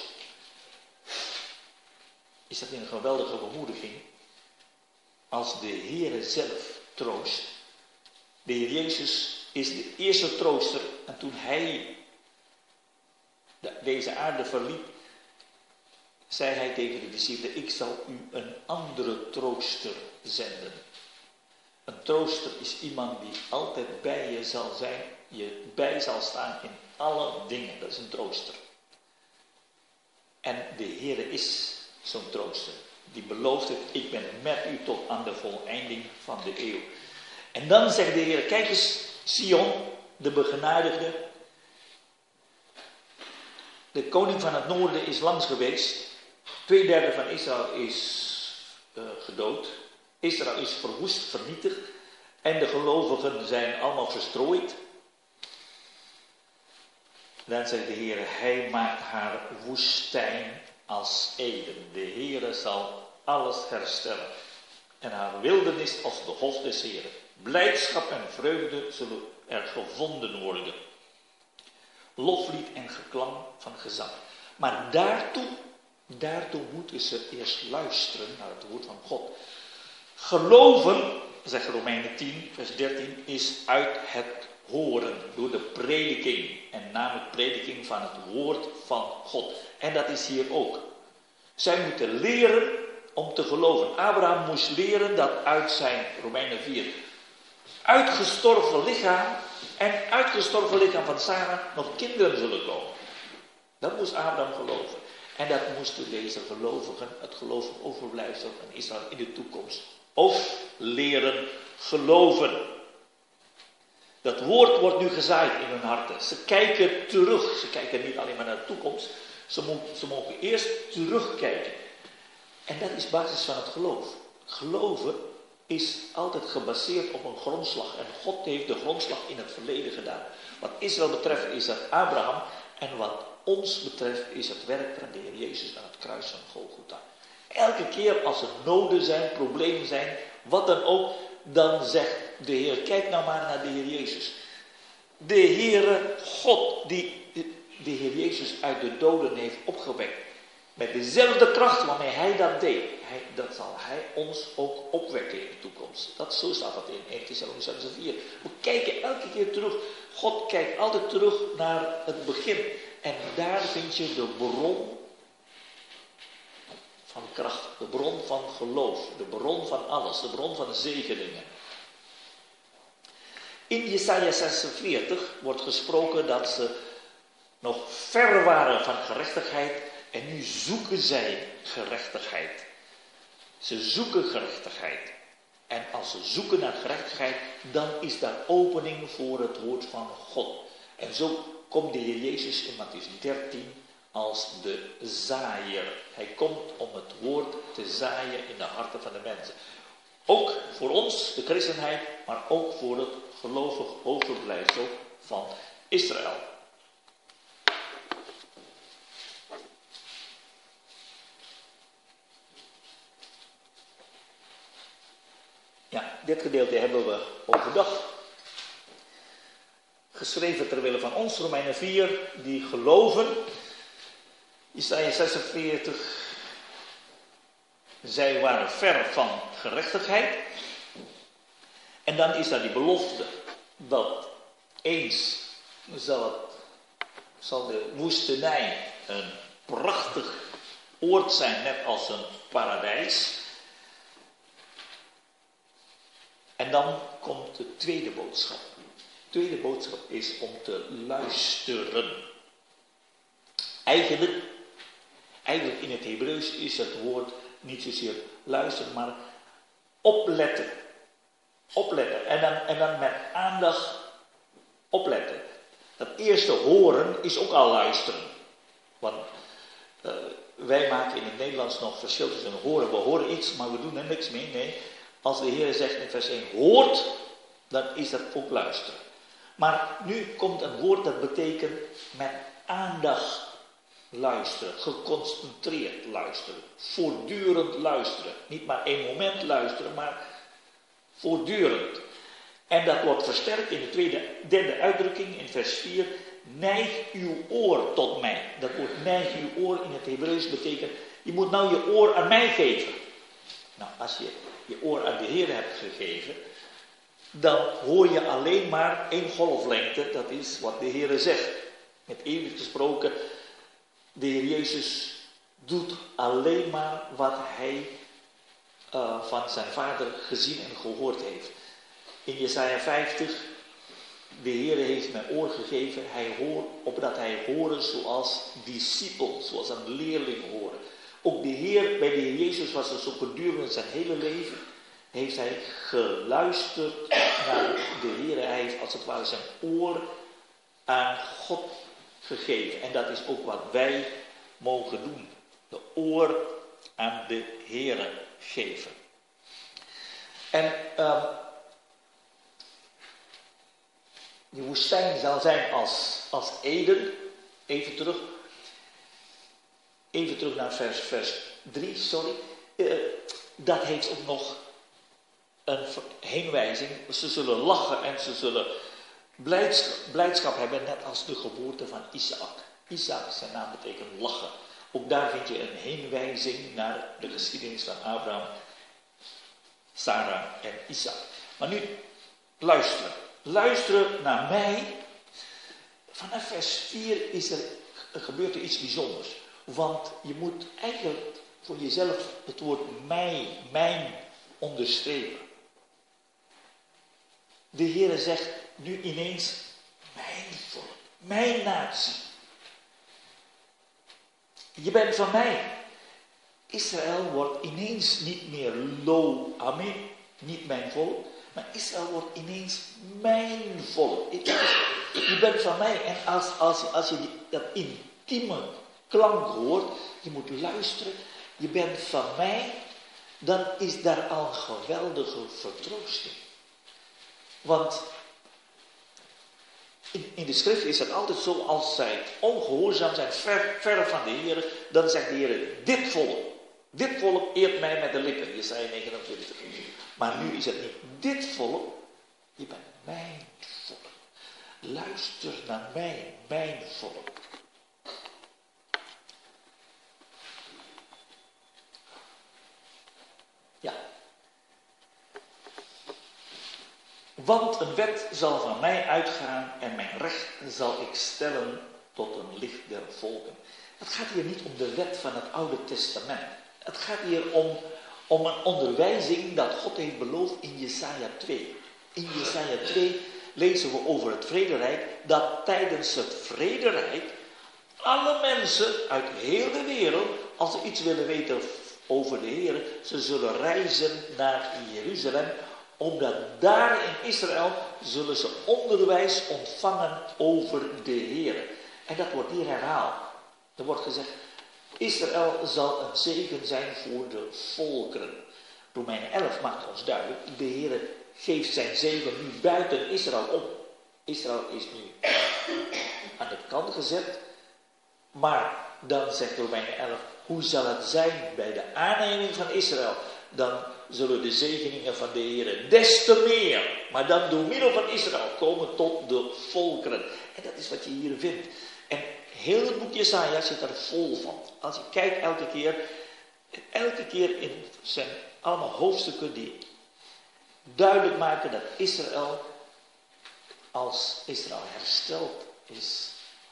Is dat een geweldige bemoediging? Als de Heere zelf troost. De Heer Jezus is de eerste trooster. En toen hij de, deze aarde verliet, zei hij tegen de discipelen, ik zal u een andere trooster zenden. Een trooster is iemand die altijd bij je zal zijn, je bij zal staan in alle dingen. Dat is een trooster. En de Heere is zo'n trooster. Die belooft het, ik ben met u tot aan de voleinding van de eeuw. En dan zegt de Heer, kijk eens, Sion, de begenadigde. De koning van het noorden is langs geweest. Tweederde van Israël is uh, gedood. Israël is verwoest, vernietigd. En de gelovigen zijn allemaal verstrooid. Dan zegt de Heer, hij maakt haar woestijn als Eden. De Heer zal alles herstellen. En haar wildernis als de hof des Heeren. Blijdschap en vreugde zullen er gevonden worden. Loflied en geklank van gezang. Maar daartoe, daartoe moeten ze eerst luisteren naar het woord van God. Geloven, zegt Romeinen tien, vers dertien, is uit het horen, door de prediking. En namelijk prediking van het woord van God. En dat is hier ook. Zij moeten leren om te geloven. Abraham moest leren dat uit zijn, Romeinen vier, uitgestorven lichaam en uitgestorven lichaam van Sarah nog kinderen zullen komen. Dat moest Abraham geloven. En dat moesten deze gelovigen, het geloof overblijfsel van Israël in de toekomst ook leren geloven. Dat woord wordt nu gezaaid in hun harten. Ze kijken terug. Ze kijken niet alleen maar naar de toekomst. Ze, mo- ze mogen eerst terugkijken. En dat is basis van het geloof. Geloven is altijd gebaseerd op een grondslag. En God heeft de grondslag in het verleden gedaan. Wat Israël betreft is dat Abraham. En wat ons betreft is het werk van de Heer Jezus aan het kruis van Golgotha. Elke keer als er noden zijn, problemen zijn, wat dan ook, dan zegt de Heer, kijk nou maar naar de Heer Jezus. De Heere God die de Heer Jezus uit de doden heeft opgewekt. Met dezelfde kracht waarmee hij dat deed. Hij, dat zal hij ons ook opwekken in de toekomst. Dat, zo staat dat in eerste Thessalonicenzen vier. We kijken elke keer terug. God kijkt altijd terug naar het begin. En daar vind je de bron van kracht. De bron van geloof. De bron van alles. De bron van zegeningen. In Jesaja zesenveertig wordt gesproken dat ze nog ver waren van gerechtigheid. En nu zoeken zij gerechtigheid. Ze zoeken gerechtigheid. En als ze zoeken naar gerechtigheid, dan is daar opening voor het woord van God. En zo komt de Heer Jezus in Mattheüs dertien als de zaaier. Hij komt om het woord te zaaien in de harten van de mensen. Ook voor ons, de christenheid, maar ook voor het gelovig overblijfsel van Israël. Ja, dit gedeelte hebben we overdag geschreven ter wille van ons, Romeinen vier, die geloven. Jesaja zesenveertig, zij waren ver van gerechtigheid. En dan is daar die belofte dat eens zal, het, zal de woestenij een prachtig oord zijn, net als een paradijs. En dan komt de tweede boodschap. De tweede boodschap is om te luisteren. Eigenlijk, eigenlijk in het Hebreeuws is het woord niet zozeer luisteren, maar opletten. Opletten. En dan, en dan met aandacht opletten. Dat eerste horen is ook al luisteren. Want uh, wij maken in het Nederlands nog verschil tussen horen. We horen iets, maar we doen er niks mee. Nee. Als de Heer zegt in vers één, hoort, dan is dat ook luisteren. Maar nu komt een woord dat betekent met aandacht luisteren. Geconcentreerd luisteren. Voortdurend luisteren. Niet maar één moment luisteren, maar voortdurend. En dat wordt versterkt in de tweede, derde uitdrukking in vers vier. Neig uw oor tot mij. Dat woord neig uw oor in het Hebreeuws betekent, je moet nou je oor aan mij geven. Nou, als je je oor aan de Heer hebt gegeven, dan hoor je alleen maar één golflengte. Dat is wat de Heer zegt. Met eeuwig gesproken, de Heer Jezus doet alleen maar wat hij uh, van zijn Vader gezien en gehoord heeft. In Jesaja vijftig, de Heer heeft mij oor gegeven, hij hoort, opdat hij horen zoals discipel, zoals een leerling horen. Ook de Heer, bij de Heer Jezus was het zo gedurende zijn hele leven, heeft hij geluisterd naar de Heer. Hij heeft als het ware zijn oor aan God gegeven. En dat is ook wat wij mogen doen. De oor aan de Heer geven. En uh, die woestijn zal zijn als, als Eden. Even terug. Even terug naar vers, vers drie, sorry. Uh, dat heeft ook nog een heenwijzing. Ze zullen lachen en ze zullen blijdschap, blijdschap hebben, net als de geboorte van Isaac. Isaac, zijn naam betekent lachen. Ook daar vind je een heenwijzing naar de geschiedenis van Abraham, Sarah en Isaac. Maar nu, luisteren. Luisteren naar mij. Vanaf vers vier is er, er gebeurt er iets bijzonders. Want je moet eigenlijk voor jezelf het woord mij, mijn onderstrepen. De Heere zegt nu ineens, mijn volk, mijn natie. Je bent van mij. Israël wordt ineens niet meer lo amen, niet mijn volk. Maar Israël wordt ineens mijn volk. Je bent van mij. En als, als, als je die, dat intieme klank hoort, je moet luisteren. Je bent van mij. Dan is daar al een geweldige vertroosting. Want in, in de schrift is het altijd zo, als zij ongehoorzaam zijn, ver, ver van de Heer, dan zegt de Heer, dit volk, dit volk eert mij met de lippen. Jesaja negenentwintig. Maar nu is het niet dit volk, je bent mijn volk. Luister naar mij, mijn volk. Ja. Want een wet zal van mij uitgaan en mijn recht zal ik stellen tot een licht der volken. Het gaat hier niet om de wet van het Oude Testament. Het gaat hier om, om een onderwijzing dat God heeft beloofd in Jesaja twee. In Jesaja twee lezen we over het vrederijk, dat tijdens het vrederijk alle mensen uit heel de wereld, als ze iets willen weten over de Heer, ze zullen reizen naar Jeruzalem, omdat daar in Israël zullen ze onderwijs ontvangen over de Heer. En dat wordt hier herhaald. Er wordt gezegd, Israël zal een zegen zijn voor de volkeren. Romeinen elf maakt ons duidelijk, de Heer geeft zijn zegen nu buiten Israël op. Israël is nu aan de kant gezet. Maar dan zegt Romeinen elf, hoe zal het zijn bij de aanneming van Israël? Dan zullen de zegeningen van de Heer des te meer, maar dan door middel van Israël, komen tot de volkeren. En dat is wat je hier vindt. En heel het boek Jesaja zit er vol van. Als je kijkt elke keer, elke keer in zijn allemaal hoofdstukken die duidelijk maken dat Israël, als Israël hersteld is,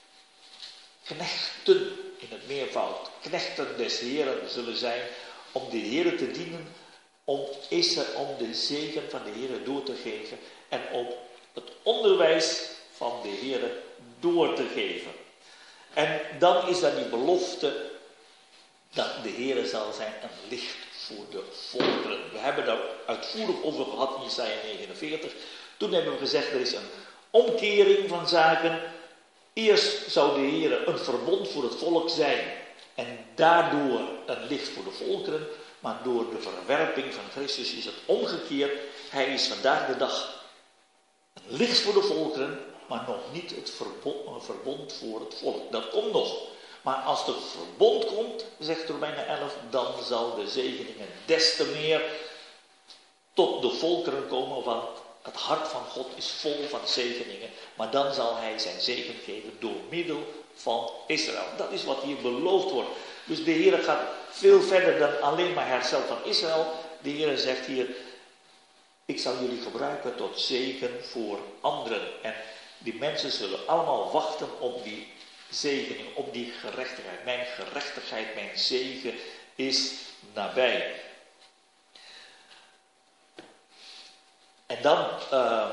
knechten in het meervoud, knechten des Heeren zullen zijn om de Heere te dienen, om, Israël, om de zegen van de Heere door te geven en om het onderwijs van de Heere door te geven. En dan is er die belofte dat de Heere zal zijn een licht voor de volkeren. We hebben daar uitvoerig over gehad in Jesaja negenenveertig. Toen hebben we gezegd, er is een omkering van zaken. Eerst zou de Heer een verbond voor het volk zijn en daardoor een licht voor de volkeren. Maar door de verwerping van Christus is het omgekeerd. Hij is vandaag de dag een licht voor de volkeren, maar nog niet het verbond, een verbond voor het volk. Dat komt nog. Maar als het verbond komt, zegt Romeinen elf, dan zal de zegeningen des te meer tot de volkeren komen, want het hart van God is vol van zegeningen, maar dan zal hij zijn zegen geven door middel van Israël. Dat is wat hier beloofd wordt. Dus de Heer gaat veel verder dan alleen maar herstel van Israël. De Heer zegt hier, ik zal jullie gebruiken tot zegen voor anderen. En die mensen zullen allemaal wachten op die zegening, op die gerechtigheid. Mijn gerechtigheid, mijn zegen is nabij. En dan, uh,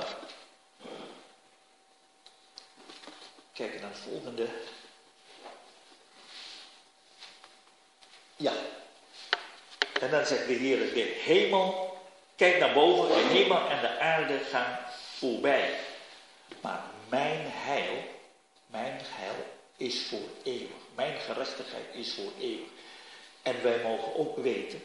kijk naar het volgende. Ja. En dan zegt de Heer, de hemel, kijk naar boven, de hemel en de aarde gaan voorbij. Maar mijn heil, mijn heil is voor eeuwig. Mijn gerechtigheid is voor eeuwig. En wij mogen ook weten,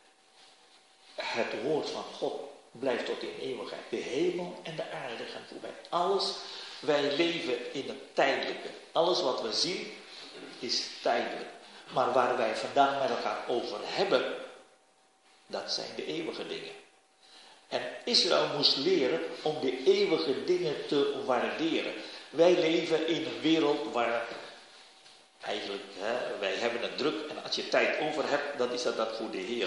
het woord van God blijft tot in eeuwigheid. De hemel en de aarde gaan voorbij. Alles, wij leven in het tijdelijke. Alles wat we zien is tijdelijk. Maar waar wij vandaag met elkaar over hebben, dat zijn de eeuwige dingen. En Israël moest leren om de eeuwige dingen te waarderen. Wij leven in een wereld waar eigenlijk, hè, wij hebben het druk en als je tijd over hebt, dan is dat dat voor de Heer.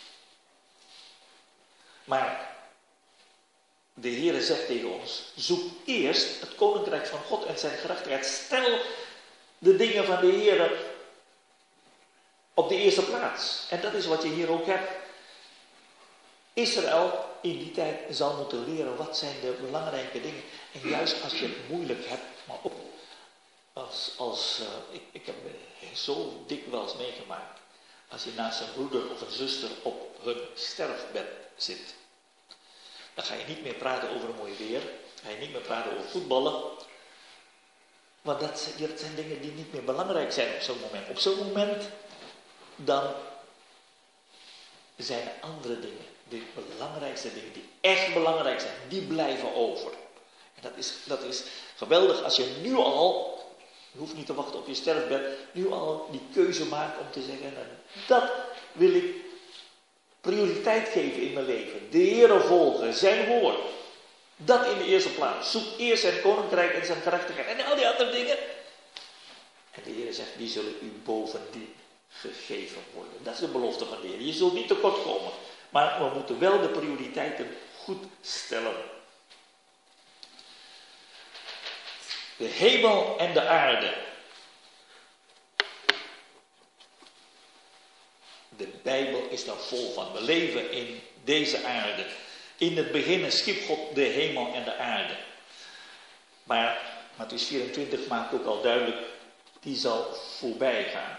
Maar de Heer zegt tegen ons, zoek eerst het koninkrijk van God en zijn gerechtigheid. Stel de dingen van de Heer op de eerste plaats. En dat is wat je hier ook hebt. Israël in die tijd zal moeten leren wat zijn de belangrijke dingen. En juist als je het moeilijk hebt, maar ook als, als uh, ik, ik heb zo dikwijls meegemaakt. Als je naast een broeder of een zuster op hun sterfbed zit. Dan ga je niet meer praten over een mooi weer. Dan ga je niet meer praten over voetballen. Want dat, dat zijn dingen die niet meer belangrijk zijn op zo'n moment. Op zo'n moment dan zijn er andere dingen. De belangrijkste dingen die echt belangrijk zijn. Die blijven over. En dat is, dat is geweldig als je nu al, je hoeft niet te wachten op je sterfbed, nu al die keuze maakt om te zeggen, dat wil ik prioriteit geven in mijn leven. De Heere volgen, zijn woord. Dat in de eerste plaats. Zoek eerst zijn koninkrijk en zijn gerechtigheid. En al die andere dingen. En de Heere zegt, die zullen u bovendien gegeven worden. Dat is de belofte van de Heer. Je zult niet tekort komen. Maar we moeten wel de prioriteiten goed stellen. De hemel en de aarde. De Bijbel is daar vol van. We leven in deze aarde. In het begin schiep God de hemel en de aarde. Maar Mattheüs vierentwintig maakt ook al duidelijk, die zal voorbij gaan.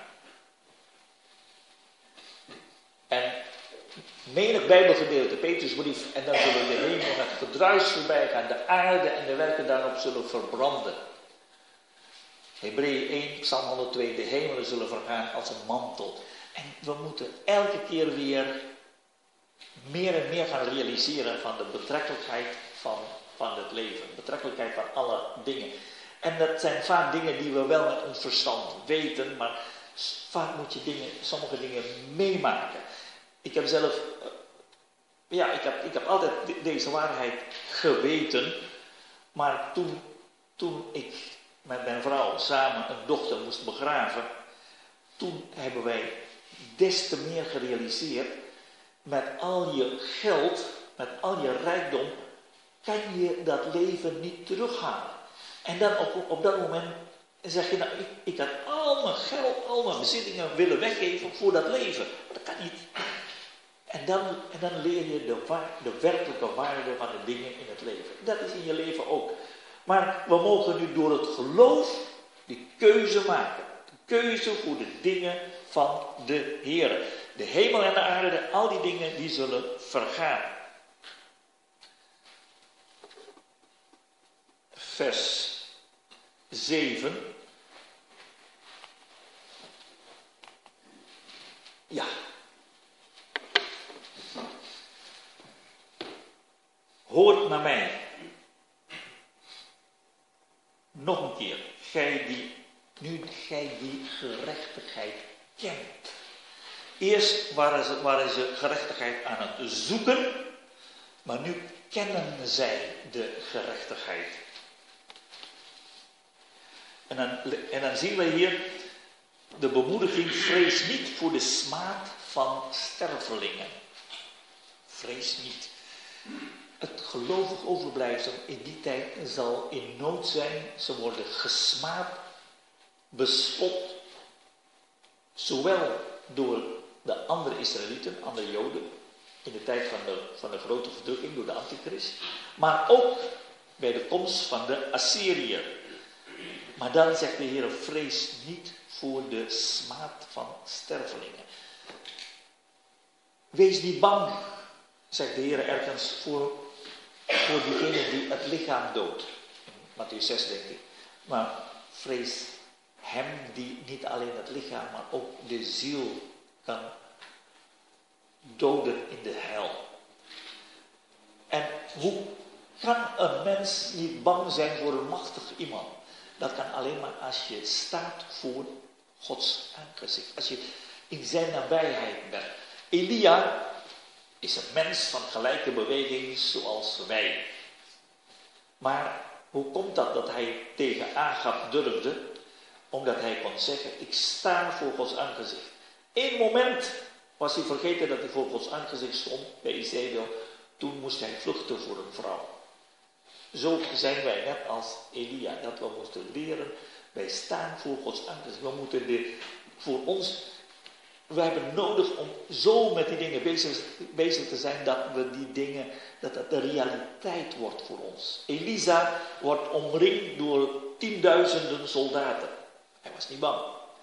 En menig Bijbelgedeelte, Petrusbrief, en dan zullen de hemel met gedruis voorbij gaan, de aarde en de werken daarop zullen verbranden. Hebreeën één, Psalm honderdtwee, de hemelen zullen vergaan als een mantel. En we moeten elke keer weer meer en meer gaan realiseren van de betrekkelijkheid van, van het leven. Betrekkelijkheid van alle dingen. En dat zijn vaak dingen die we wel met ons verstand weten, maar vaak moet je dingen, sommige dingen meemaken. Ik heb zelf, ja, ik heb, ik heb altijd deze waarheid geweten, maar toen, toen ik met mijn vrouw samen een dochter moest begraven, toen hebben wij des te meer gerealiseerd, met al je geld, met al je rijkdom, kan je dat leven niet terughalen. En dan op, op dat moment zeg je, nou, ik, ik had al mijn geld, al mijn bezittingen willen weggeven voor dat leven. Maar dat kan niet. En dan, en dan leer je de, waar, de werkelijke waarde van de dingen in het leven. Dat is in je leven ook. Maar we mogen nu door het geloof die keuze maken. De keuze voor de dingen van de Heer. De hemel en de aarde, al die dingen die zullen vergaan. Vers zeven. Ja. Hoort naar mij. Nog een keer. Gij die, nu gij die gerechtigheid kent. Eerst waren ze, waren ze gerechtigheid aan het zoeken, maar nu kennen zij de gerechtigheid. En dan, en dan zien we hier de bemoediging, vrees niet voor de smaad van stervelingen. Vrees niet. Het gelovig overblijfsel in die tijd zal in nood zijn. Ze worden gesmaad, bespot, zowel door de andere Israëlieten, andere Joden, in de tijd van de, van de grote verdrukking door de antichrist. Maar ook bij de komst van de Assyriër. Maar dan zegt de Heer, vrees niet voor de smaad van stervelingen. Wees niet bang, zegt de Heer ergens, voor, voor diegene die het lichaam doodt. In Mattheüs zes denk ik. Maar vrees hem die niet alleen het lichaam, maar ook de ziel kan doden in de hel. En hoe kan een mens niet bang zijn voor een machtig iemand? Dat kan alleen maar als je staat voor Gods aangezicht. Als je in zijn nabijheid bent. Elia is een mens van gelijke beweging zoals wij. Maar hoe komt dat dat hij tegen Agab durfde? Omdat hij kon zeggen, ik sta voor Gods aangezicht. Eén moment was hij vergeten dat hij voor Gods aangezicht stond bij Izebel. Toen moest hij vluchten voor een vrouw. Zo zijn wij net als Elia, dat we moeten leren, wij staan voor Gods aangezicht. We moeten de, voor ons, we hebben nodig om zo met die dingen bezig, bezig te zijn, dat we die dingen, dat dat de realiteit wordt voor ons. Elisa wordt omringd door tienduizenden soldaten. Hij was niet bang.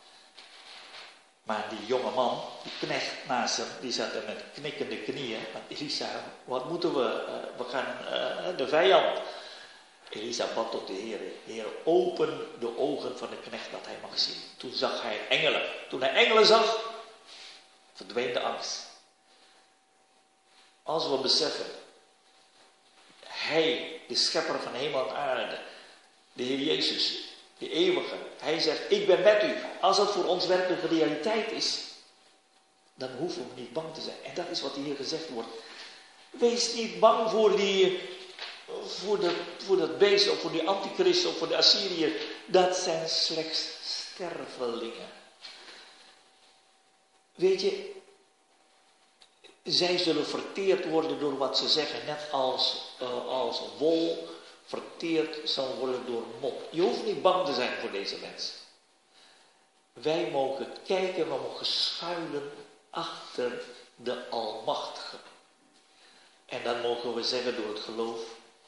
Maar die jonge man, die knecht naast hem, die zat er met knikkende knieën. Want Elisa, wat moeten we? Uh, we gaan uh, de vijand. Elisa bad tot de Heer. Heer, open de ogen van de knecht dat hij mag zien. Toen zag hij engelen. Toen hij engelen zag, verdween de angst. Als we beseffen, hij, de schepper van hemel en aarde, de Heer Jezus, de eeuwige, hij zegt, ik ben met u. Als het voor ons werkelijke realiteit is, dan hoeven we niet bang te zijn. En dat is wat hier gezegd wordt. Wees niet bang voor die, voor, de, voor dat beest, of voor die antichrist, of voor de Assyriër. Dat zijn slechts stervelingen. Weet je, zij zullen verteerd worden door wat ze zeggen, net als, uh, als wol verteerd zal worden door mot. Je hoeft niet bang te zijn voor deze mensen. Wij mogen kijken, we mogen schuilen achter de Almachtige. En dan mogen we zeggen door het geloof,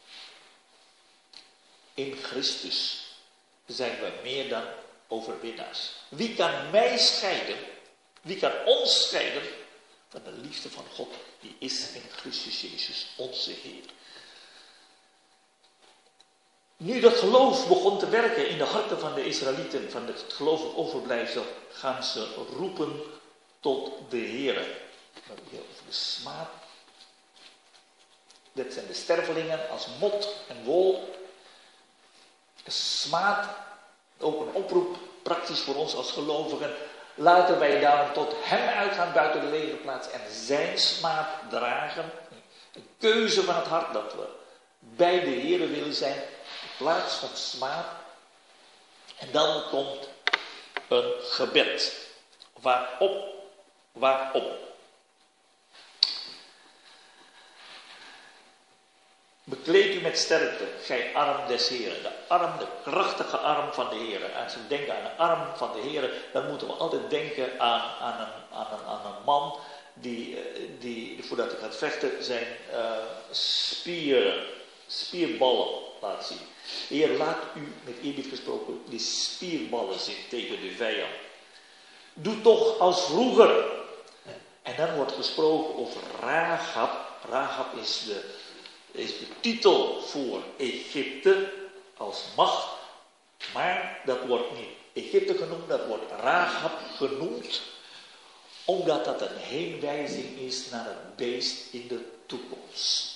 in Christus zijn we meer dan overwinnaars. Wie kan mij scheiden? Wie kan ons scheiden van de liefde van God? Die is in Christus Jezus, onze Heer. Nu dat geloof begon te werken in de harten van de Israëlieten, van het gelovig overblijfsel, gaan ze roepen tot de Heer. We hebben hier over de smaad. Dit zijn de stervelingen als mot en wol. Smaad, ook een oproep, praktisch voor ons als gelovigen. Laten wij daarom tot hem uitgaan buiten de legerplaats en zijn smaad dragen. Een keuze van het hart dat we bij de Heer willen zijn, in plaats van smaad. En dan komt een gebed. Waarop? Waarop? Bekleed u met sterkte, gij arm des Heren. De arm, de krachtige arm van de Heren. Als we denken aan de arm van de Heren, dan moeten we altijd denken aan, aan, een, aan, een, aan een man die, die, voordat hij gaat vechten, zijn uh, spieren, spierballen laat zien. De Heer, laat u, met eerbied gesproken, die spierballen zien tegen de vijand. Doe toch als vroeger. En dan wordt gesproken over Rahab. Rahab is de... is de titel voor Egypte als macht, maar dat wordt niet Egypte genoemd, dat wordt Rahab genoemd, omdat dat een heenwijzing is naar het beest in de toekomst.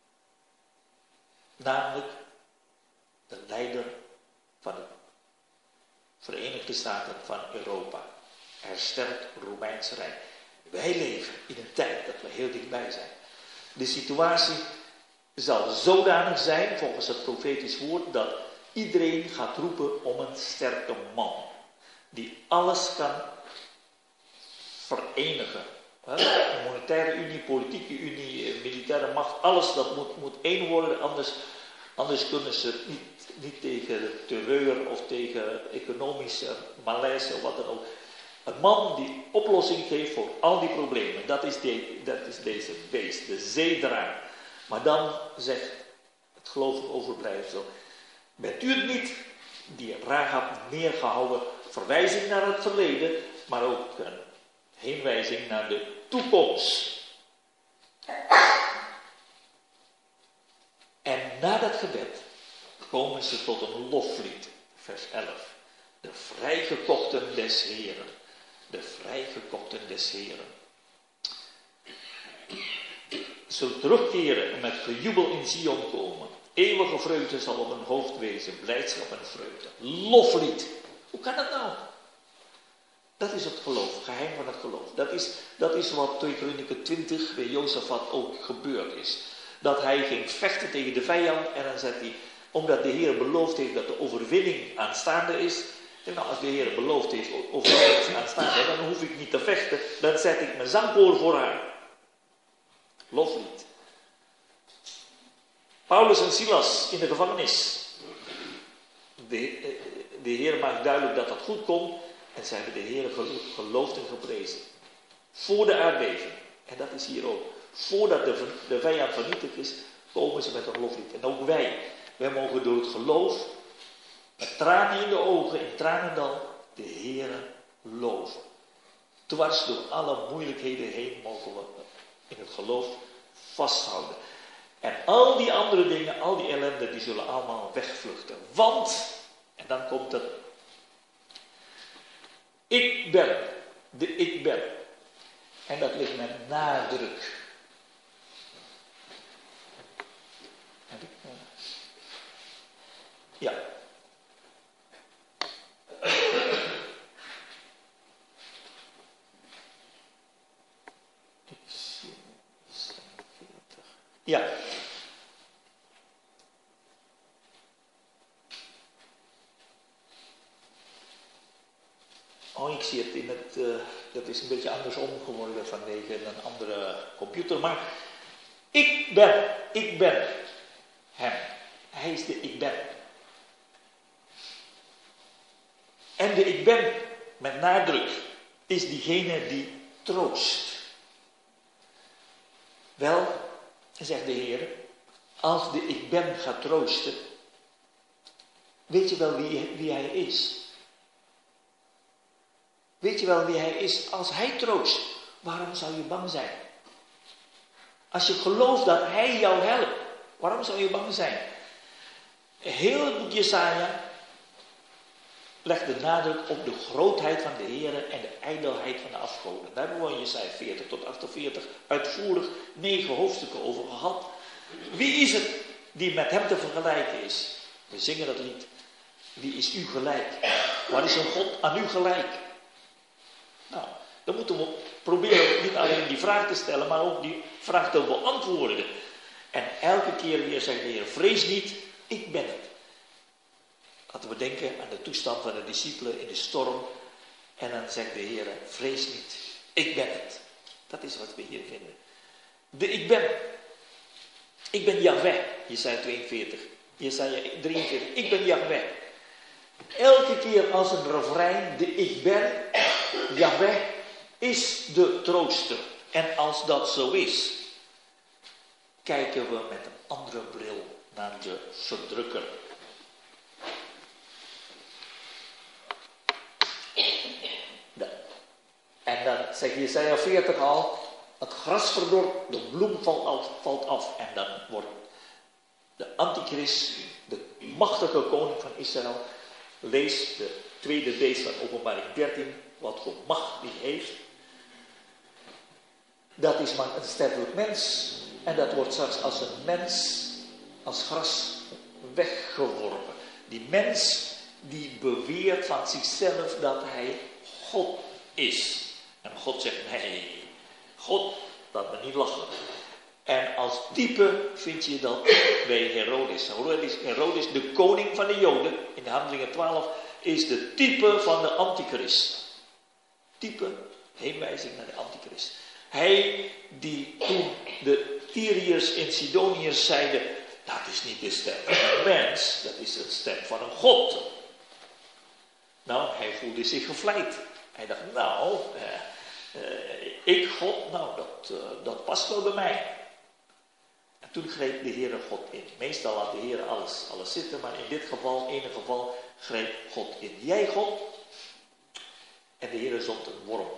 Namelijk de leider van de Verenigde Staten van Europa. Hersteld Romeins Rijk. Wij leven in een tijd dat we heel dichtbij zijn. De situatie zal zodanig zijn, volgens het profetisch woord, dat iedereen gaat roepen om een sterke man. Die alles kan verenigen. Een monetaire unie, politieke unie, militaire macht, alles dat moet, moet één worden, anders, anders kunnen ze niet, niet tegen terreur of tegen economische malaise of wat dan ook. Een man die oplossing geeft voor al die problemen. Dat is, de, dat is deze beest, de zeedraar. Maar dan zegt het gelovige overblijfsel: bent u het niet die Rahab neergehouden? Verwijzing naar het verleden, maar ook een heenwijzing naar de toekomst. En na dat gebed komen ze tot een loflied, vers elf. De vrijgekochten des Heren. De vrijgekochten des Heren. Zullen terugkeren en met gejubel in Sion komen. Eeuwige vreugde zal op hun hoofd wezen, blijdschap en vreugde. Loflied. Hoe kan dat nou? Dat is het geloof, geheim van het geloof. Dat is, dat is wat twee Kronieken twintig bij Jozefat ook gebeurd is. Dat hij ging vechten tegen de vijand en dan zegt hij, omdat de Heer beloofd heeft dat de overwinning aanstaande is. En nou, als de Heer beloofd heeft overwinning aanstaande, dan hoef ik niet te vechten. Dan zet ik mijn zangkoor voor haar. Loflied. Paulus en Silas in de gevangenis. De, de Heer maakt duidelijk dat dat goed komt. En ze hebben de Heer geloofd en geprezen. Voor de aardbeving. En dat is hier ook. Voordat de, de vijand vernietigd is, komen ze met een loflied. En ook wij. Wij mogen door het geloof, met tranen in de ogen, in tranendal, de Heer loven. Dwars door alle moeilijkheden heen mogen we in het geloof vasthouden. En al die andere dingen, al die ellende, die zullen allemaal wegvluchten. Want, en dan komt het, ik ben, de ik ben. En dat ligt met nadruk. Ja. Ja. Oh, ik zie het in het, uh, dat is een beetje andersom geworden vanwege een andere computer. Maar ik ben, ik ben hem. Hij is de ik ben. En de ik ben, met nadruk, is diegene die troost. Wel, zegt de Heer, als de ik ben gaat troosten, weet je wel wie, wie hij is? Weet je wel wie hij is? Als hij troost, waarom zou je bang zijn? Als je gelooft dat hij jou helpt, waarom zou je bang zijn? Heel het boek Jesaja legt de nadruk op de grootheid van de Heer en de ijdelheid van de afgoden. Daar hebben we in Jesaja veertig tot achtenveertig uitvoerig negen hoofdstukken over gehad. Wie is het die met hem te vergelijken is? We zingen dat lied. Wie is u gelijk? Waar is een God aan u gelijk? Nou, dan moeten we proberen niet alleen die vraag te stellen, maar ook die vraag te beantwoorden. En elke keer weer zegt de Heer, vrees niet, ik ben het. Laten we denken aan de toestand van de discipelen in de storm. En dan zegt de Heer, vrees niet, ik ben het. Dat is wat we hier vinden. De ik ben. Ik ben Yahweh, Jesaja tweeënveertig. Jesaja drieënveertig, ik ben Yahweh. Elke keer als een refrein, de ik ben, Yahweh is de trooster. En als dat zo is, kijken we met een andere bril naar de verdrukker. En dan zegt Jesaja veertig al, het gras verdort, de bloem valt af. En dan wordt de antichrist, de machtige koning van Israël, lees de tweede beest van Openbaring dertien, wat voor macht die heeft. Dat is maar een sterfelijk mens. En dat wordt straks als een mens, als gras, weggeworpen. Die mens die beweert van zichzelf dat hij God is. En God zegt, nee, God, laat me niet lachen. En als type vind je dat bij Herodes. Herodes, de koning van de Joden, in de Handelingen twaalf, is de type van de antichrist. Type, heenwijzing naar de antichrist. Hij die toen de Tyriërs en Sidoniërs zeiden, dat is niet de stem van een mens, dat is de stem van een God. Nou, hij voelde zich gevleid. Hij dacht, nou, uh, uh, ik God, nou, dat, uh, dat past wel bij mij. En toen greep de Heere God in. Meestal laat de Heere alles, alles zitten, maar in dit geval, in ieder geval, greep God in. Jij God? En de Heere zond een worm.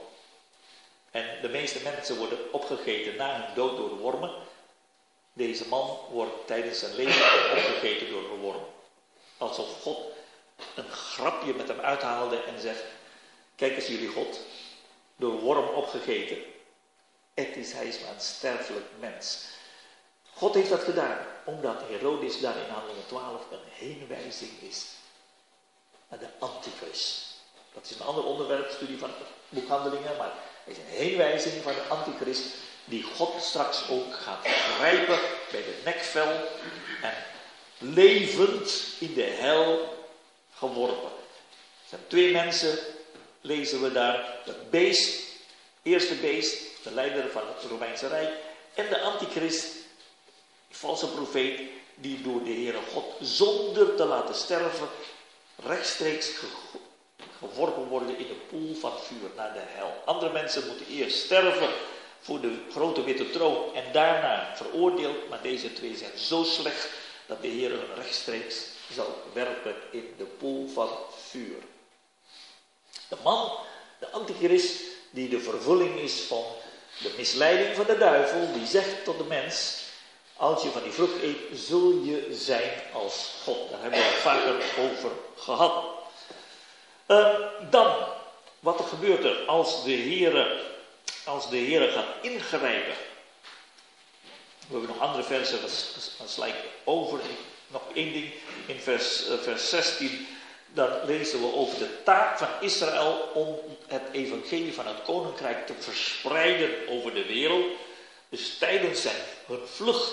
En de meeste mensen worden opgegeten na hun dood door de wormen. Deze man wordt tijdens zijn leven opgegeten door een worm. Alsof God een grapje met hem uithaalde en zegt, kijk eens jullie God, door een worm opgegeten. Het is, hij is maar een sterfelijk mens. God heeft dat gedaan, omdat Herodes daar in Handelingen twaalf een heenwijzing is naar de Antichrist. Dat is een ander onderwerp, studie van het boek Handelingen, maar het is een heenwijzing van de Antichrist die God straks ook gaat grijpen bij de nekvel en levend in de hel geworpen. Er zijn twee mensen, lezen we daar, het beest, eerste beest, de leider van het Romeinse Rijk, en de Antichrist, die valse profeet, die door de Heere God zonder te laten sterven rechtstreeks ge- geworpen worden in de poel van vuur naar de hel. Andere mensen moeten eerst sterven voor de grote witte troon en daarna veroordeeld, maar deze twee zijn zo slecht dat de Heer hun rechtstreeks zal werpen in de poel van vuur. De man, de Antichrist, die de vervulling is van de misleiding van de duivel, die zegt tot de mens, als je van die vrucht eet, zul je zijn als God. Daar hebben we het vaker over gehad. Uh, dan, wat er gebeurt er als de Heere, als de Heere gaat ingrijpen. We hebben nog andere versen, dat sla ik over. Nog één ding, in vers, uh, vers zestien, dan lezen we over de taak van Israël om het evangelie van het koninkrijk te verspreiden over de wereld. Dus tijdens zijn, hun vlucht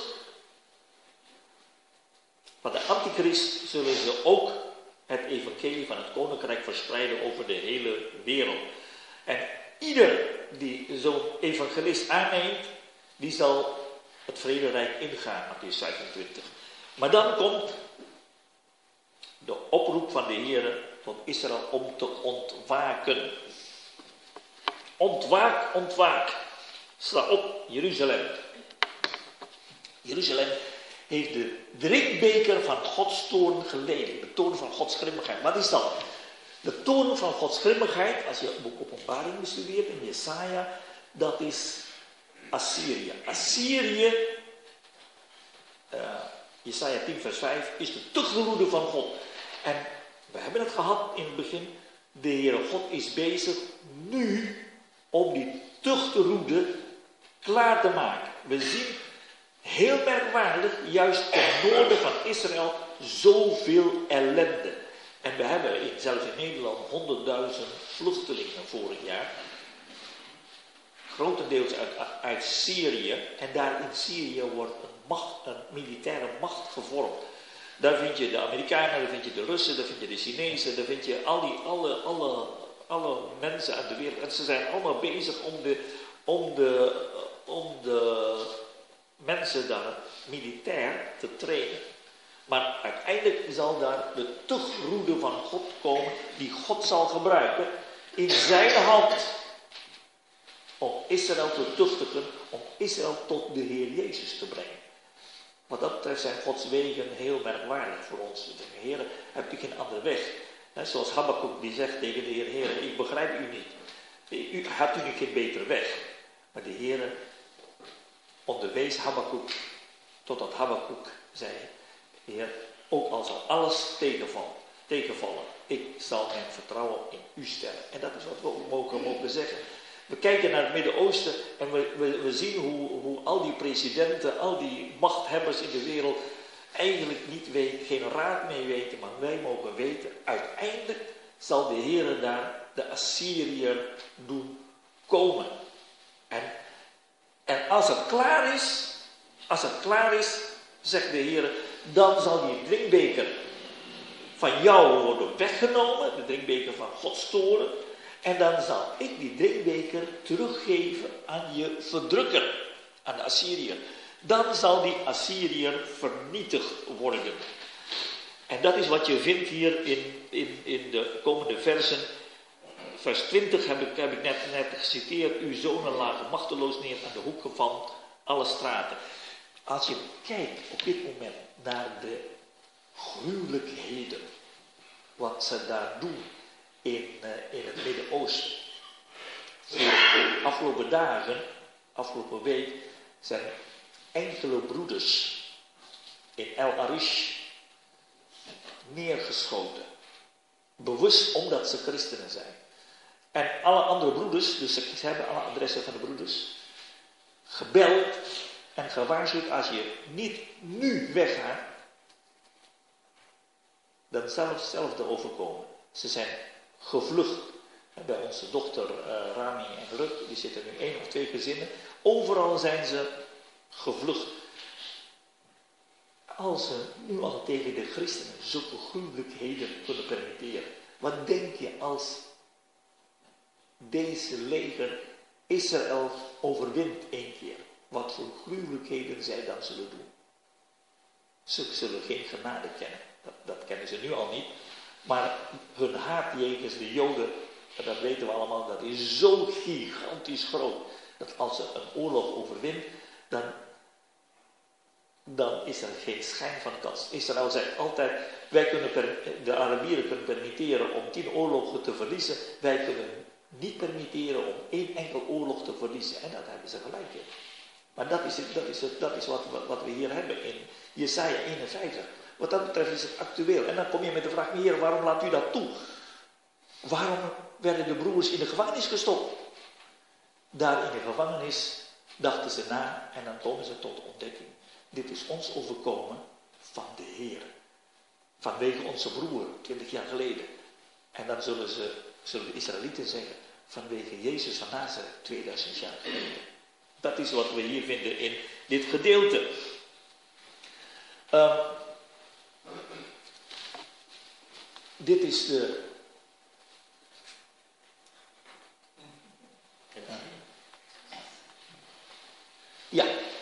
van de Antichrist zullen ze ook het evangelie van het koninkrijk verspreiden over de hele wereld. En ieder die zo'n evangelist aanneemt, die zal het vrederijk ingaan, Mattheüs vijfentwintig. Maar dan komt de oproep van de Heer tot Israël om te ontwaken. Ontwaak, ontwaak. Sta op, Jeruzalem. Jeruzalem heeft de drinkbeker van Gods toorn geleden. De toorn van Gods grimmigheid. Wat is dat? De toorn van Gods grimmigheid, als je het boek Openbaring bestudeert in Jesaja, dat is Assyrië. Assyrië, uh, Jesaja tien vers vijf, is de tuchtgeroede van God. En we hebben het gehad in het begin. De Heere God is bezig nu om die tuchtgeroede klaar te maken. We zien heel merkwaardig, juist ten noorden van Israël, zoveel ellende. En we hebben in, zelfs in Nederland honderdduizend vluchtelingen vorig jaar. Grotendeels uit, uit Syrië. En daar in Syrië wordt een, macht, een militaire macht gevormd. Daar vind je de Amerikanen, daar vind je de Russen, daar vind je de Chinezen, daar vind je al die, alle, alle, alle mensen uit de wereld. En ze zijn allemaal bezig om de, om de, om de mensen daar militair te trainen. Maar uiteindelijk zal daar de tuchtroede van God komen, die God zal gebruiken in zijn hand om Israël te tuchtigen, om Israël tot de Heer Jezus te brengen. Wat dat betreft zijn Gods wegen heel merkwaardig voor ons. We zeggen, Heer, heb ik geen andere weg? He, zoals Habakkuk die zegt tegen de Heer, Heer, ik begrijp u niet. U, hebt u niet geen betere weg? Maar de Heer onderwees Habakkuk, totdat Habakkuk zei, Heer, ook al zal alles tegenvallen, tegenvallen, ik zal mijn vertrouwen in u stellen. En dat is wat we ook mogen, mogen zeggen. We kijken naar het Midden-Oosten en we, we, we zien hoe, hoe al die presidenten, al die machthebbers in de wereld eigenlijk niet weten, geen raad mee weten, maar wij mogen weten, uiteindelijk zal de Heer daar de Assyriër doen komen. En, en als het klaar is, als het klaar is, zegt de Heer, dan zal die drinkbeker van jou worden weggenomen, de drinkbeker van Gods toorn. En dan zal ik die drinkbeker teruggeven aan je verdrukker, aan de Assyriër. Dan zal die Assyriër vernietigd worden. En dat is wat je vindt hier in, in, in de komende versen. vers twintig heb ik, heb ik net, net geciteerd. Uw zonen lagen machteloos neer aan de hoeken van alle straten. Als je kijkt op dit moment naar de gruwelijkheden, wat ze daar doen in, uh, in het Midden-Oosten. De afgelopen dagen, afgelopen week, zijn enkele broeders in El Arish neergeschoten. Bewust omdat ze christenen zijn. En alle andere broeders, dus ze hebben alle adressen van de broeders, gebeld en gewaarschuwd, als je niet nu weggaat, dan zal hetzelfde overkomen. Ze zijn gevlucht. Bij onze dochter uh, Rami en Rut, die zitten nu één of twee gezinnen. Overal zijn ze gevlucht. Als ze nu al tegen de christenen zulke gruwelijkheden kunnen permitteren. Wat denk je als deze leger Israël overwint één keer? Wat voor gruwelijkheden zij dan zullen doen? Ze zullen geen genade kennen. Dat, dat kennen ze nu al niet. Maar hun haat jegens de Joden, dat weten we allemaal, dat is zo gigantisch groot. Dat als ze een oorlog overwint, dan, dan is er geen schijn van kans. Israël zegt altijd, wij kunnen per, de Arabieren kunnen permitteren om tien oorlogen te verliezen. Wij kunnen niet permitteren om één enkel oorlog te verliezen. En dat hebben ze gelijk in. Maar dat is, het, dat is, het, dat is wat, wat we hier hebben in Jesaja eenenvijftig. Wat dat betreft is het actueel. En dan kom je met de vraag, Heer, waarom laat u dat toe? Waarom werden de broers in de gevangenis gestopt? Daar in de gevangenis dachten ze na en dan komen ze tot ontdekking. Dit is ons overkomen van de Heer. Vanwege onze broer, twintig jaar geleden. En dan zullen, ze, zullen de Israëlieten zeggen, vanwege Jezus van Nazareth, tweeduizend jaar geleden. Dat is wat we hier vinden in dit gedeelte. Um, dit is de... Ja.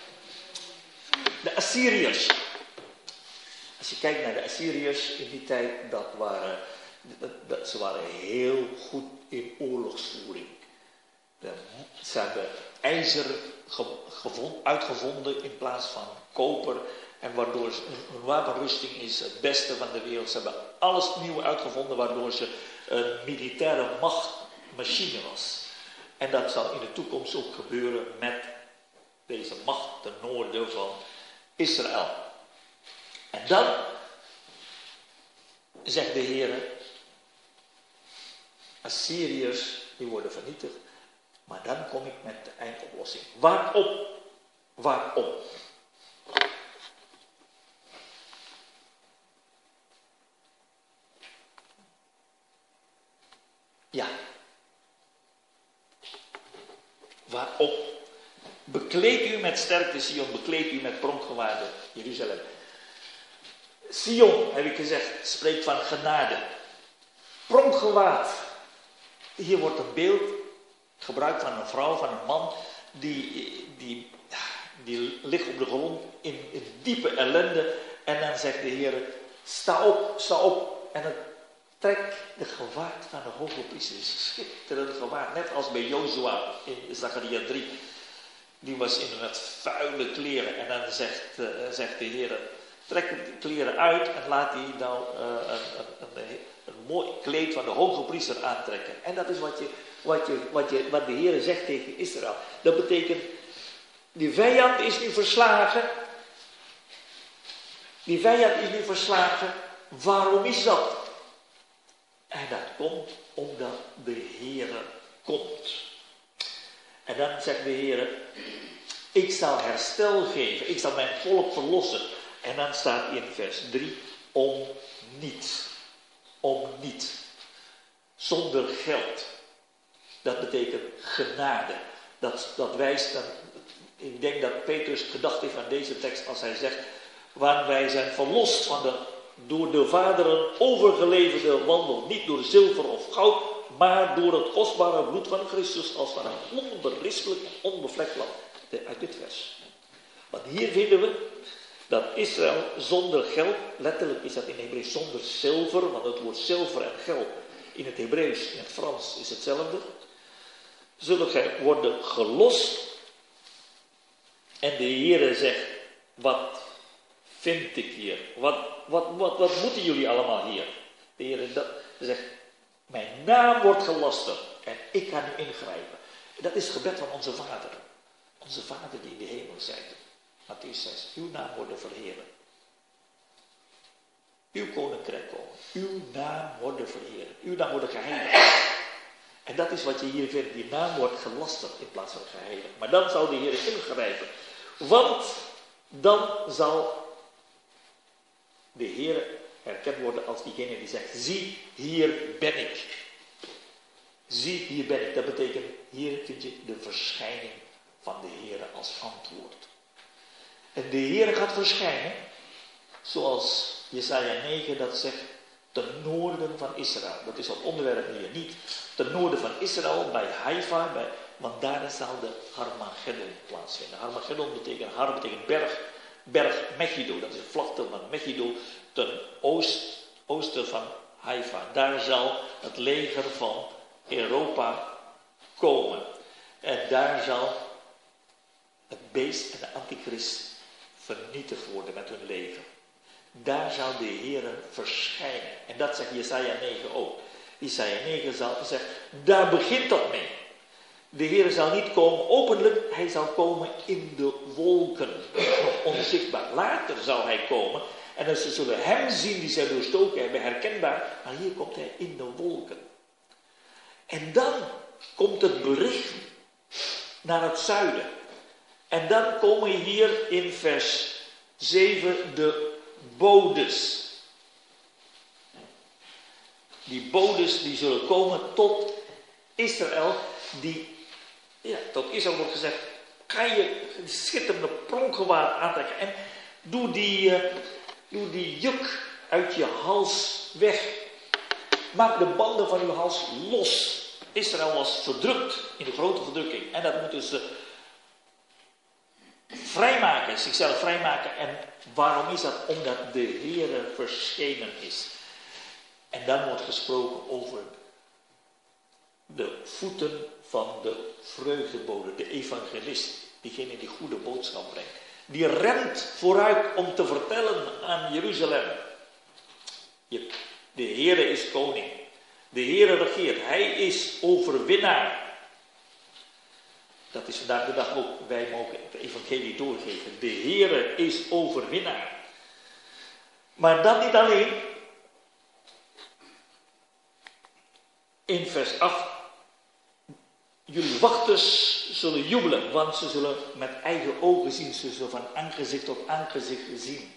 De Assyriërs. Als je kijkt naar de Assyriërs in die tijd, dat waren, dat, dat, ze waren heel goed in oorlogsvoering. De, ze hebben ijzer ge, gevond, uitgevonden in plaats van koper. En waardoor ze, hun wapenrusting is het beste van de wereld. Ze hebben alles nieuw uitgevonden waardoor ze een militaire machtmachine was. En dat zal in de toekomst ook gebeuren met deze macht ten noorden van Israël. En dan zegt de Heer, Assyriërs die worden vernietigd. Maar dan kom ik met de eindoplossing. Waarom? Waarom? Ja. Waarom? Bekleed u met sterkte Sion, bekleed u met pronkgewaarde Jeruzalem. Sion, heb ik gezegd, spreekt van genade. Pronkgewaad. Hier wordt een beeld gebruikt van een vrouw, van een man, die, die, die ligt op de grond in, in diepe ellende. En dan zegt de Heer, sta op, sta op. En het trekt de gewaad van de hoge priester. Schitterend gewaad, net als bij Jozua in Zacharia drie. Die was in met vuile kleren. En dan zegt, uh, zegt de Heer, trek de kleren uit en laat hij nou uh, een, een, een, een mooi kleed van de hoge priester aantrekken. En dat is wat, je, wat, je, wat, je, wat de Heer zegt tegen Israël. Dat betekent, die vijand is nu verslagen. Die vijand is nu verslagen. Waarom is dat? En dat komt omdat de Heer komt. En dan zegt de Heer, ik zal herstel geven, ik zal mijn volk verlossen. En dan staat in vers drie, om niets. Om niets. Zonder geld. Dat betekent genade. Dat, dat wijst, dat, ik denk dat Petrus gedacht heeft aan deze tekst als hij zegt, waar wij zijn verlost van de door de vaderen overgeleverde wandel. Niet door zilver of goud, maar door het kostbare bloed van Christus als van een onberispelijk en onbevlekt lam. Uit dit vers. Want hier vinden we dat Israël zonder geld, letterlijk is dat in Hebreeuws zonder zilver, want het woord zilver en geld in het Hebreeuws, in het Frans is hetzelfde. Zullen gij worden gelost. En de Heere zegt, wat vind ik hier? Wat, wat, wat, wat moeten jullie allemaal hier? De Heere zegt, mijn naam wordt gelasterd en ik ga nu ingrijpen. Dat is het gebed van onze Vader. Onze Vader die in de hemel zijt. Mattheüs zes, uw naam worden verheerlijk. Uw koninkrijk komen. Uw naam worden verheerlijk. Uw naam worden geheiligd. En dat is wat je hier vindt. Die naam wordt gelasterd in plaats van geheiligd. Maar dan zal de Heer ingrijpen. Want dan zal de Heer herkend worden als diegene die zegt, zie, hier ben ik. Zie, hier ben ik. Dat betekent, hier vind je de verschijning van de Heer als antwoord. En de Heer gaat verschijnen, zoals Jesaja negen dat zegt, ten noorden van Israël. Dat is het onderwerp hier niet. Ten noorden van Israël, bij Haifa, bij, want daar zal de Harmageddon plaatsvinden. Harmageddon betekent, Har betekent berg, berg Megiddo. Dat is de vlakte van Megiddo, ten oost, oosten van Haifa. Daar zal het leger van Europa komen. En daar zal het beest en de antichrist vernietigd worden met hun leger. Daar zal de Heer verschijnen. En dat zegt Jesaja negen ook. Jesaja negen zal zeggen, daar begint dat mee. De Heer zal niet komen openlijk, hij zal komen in de wolken. Nog onzichtbaar. Later zal hij komen. En dan ze zullen hem zien die zij doorstoken hebben, herkenbaar. Maar hier komt hij in de wolken. En dan komt het bericht naar het zuiden. En dan komen hier in vers zeven de bodes. Die bodes die zullen komen tot Israël. Die, ja, tot Israël wordt gezegd, ga je schitterende pronkgewaad aantrekken. En doe die, uh, doe die juk uit je hals weg. Maak de banden van uw hals los. Israël was verdrukt in de grote verdrukking. En dat moeten ze vrijmaken, zichzelf vrijmaken. En waarom is dat? Omdat de Heere verschenen is. En dan wordt gesproken over de voeten van de vreugdebode, de evangelist. Diegene die goede boodschap brengt. Die rent vooruit om te vertellen aan Jeruzalem. De Heere is koning. De Heere regeert. Hij is overwinnaar. Dat is vandaag de dag ook. Wij mogen het evangelie doorgeven. De Heere is overwinnaar. Maar dat niet alleen. In vers acht. Jullie wachters zullen jubelen. Want ze zullen met eigen ogen zien. Ze zullen van aangezicht tot aangezicht zien.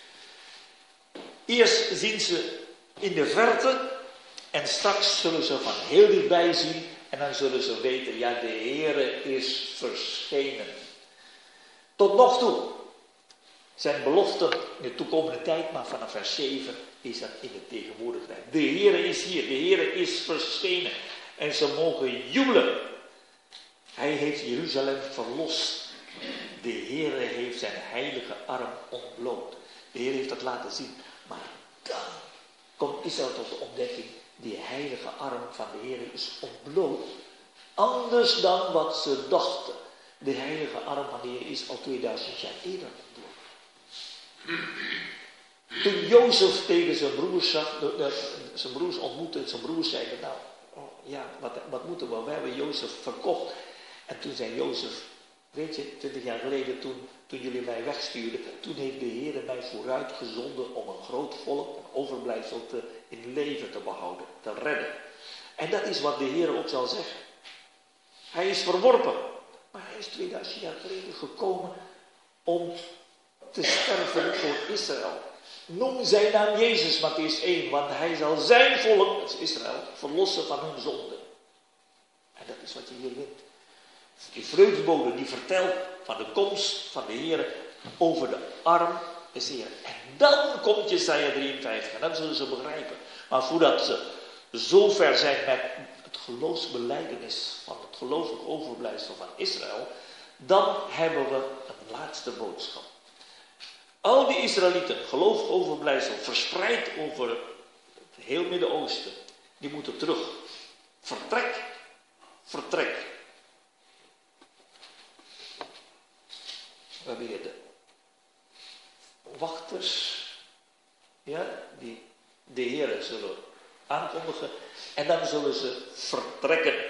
Eerst zien ze in de verte. En straks zullen ze van heel dichtbij zien. En dan zullen ze weten, ja, de Heere is verschenen. Tot nog toe zijn beloften in de toekomende tijd, maar vanaf vers zeven is dat in de tegenwoordigheid. De Heere is hier, de Heere is verschenen. En ze mogen jubelen. Hij heeft Jeruzalem verlost. De Heere heeft zijn heilige arm ontbloot. De Heer heeft dat laten zien. Maar dan komt Israël tot de ontdekking. Die heilige arm van de Heer is ontbloot. Anders dan wat ze dachten. De heilige arm van de Heer is al tweeduizend jaar eerder ontbloot. Toen Jozef tegen zijn broers zag, de, de, zijn broers ontmoette, zijn broers zeiden, nou, oh, ja, wat, wat moeten we? We hebben Jozef verkocht. En toen zei Jozef, weet je, twintig jaar geleden toen, toen jullie mij wegstuurden, toen heeft de Heer mij vooruit gezonden om een groot volk, een overblijfsel te, in leven te behouden, te redden. En dat is wat de Heer ook zal zeggen. Hij is verworpen, maar hij is tweeduizend jaar geleden gekomen om te sterven voor Israël. Noem zijn naam Jezus, Mattheüs één, want hij zal zijn volk, dat is Israël, verlossen van hun zonde. En dat is wat je hier vindt. Die vreugdebode die vertelt van de komst van de Heer over de arm des Heeren. En dan komt Jesaja drieënvijftig en dan zullen ze begrijpen. Maar voordat ze zo ver zijn met het geloofsbelijdenis van het gelooflijk overblijfsel van Israël, dan hebben we een laatste boodschap. Al die Israëlieten, gelooflijk overblijfsel, verspreid over het heel Midden-Oosten, die moeten terug. Vertrek, vertrek. We hebben hier de wachters, ja, die de Heer zullen aankondigen en dan zullen ze vertrekken.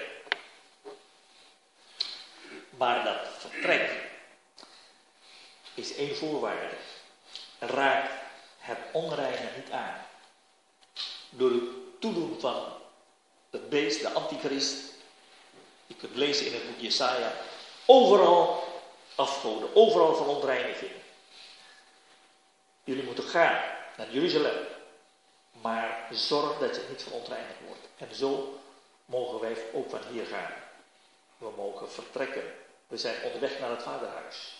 Maar dat vertrek is één voorwaarde. Raak het onreine niet aan. Door het toedoen van het beest, de antichrist. Je kunt lezen in het boek Jesaja. Overal afgoden, overal verontreiniging. Jullie moeten gaan naar Jeruzalem. Maar zorg dat je niet verontreinigd wordt. En zo mogen wij ook van hier gaan. We mogen vertrekken. We zijn onderweg naar het Vaderhuis.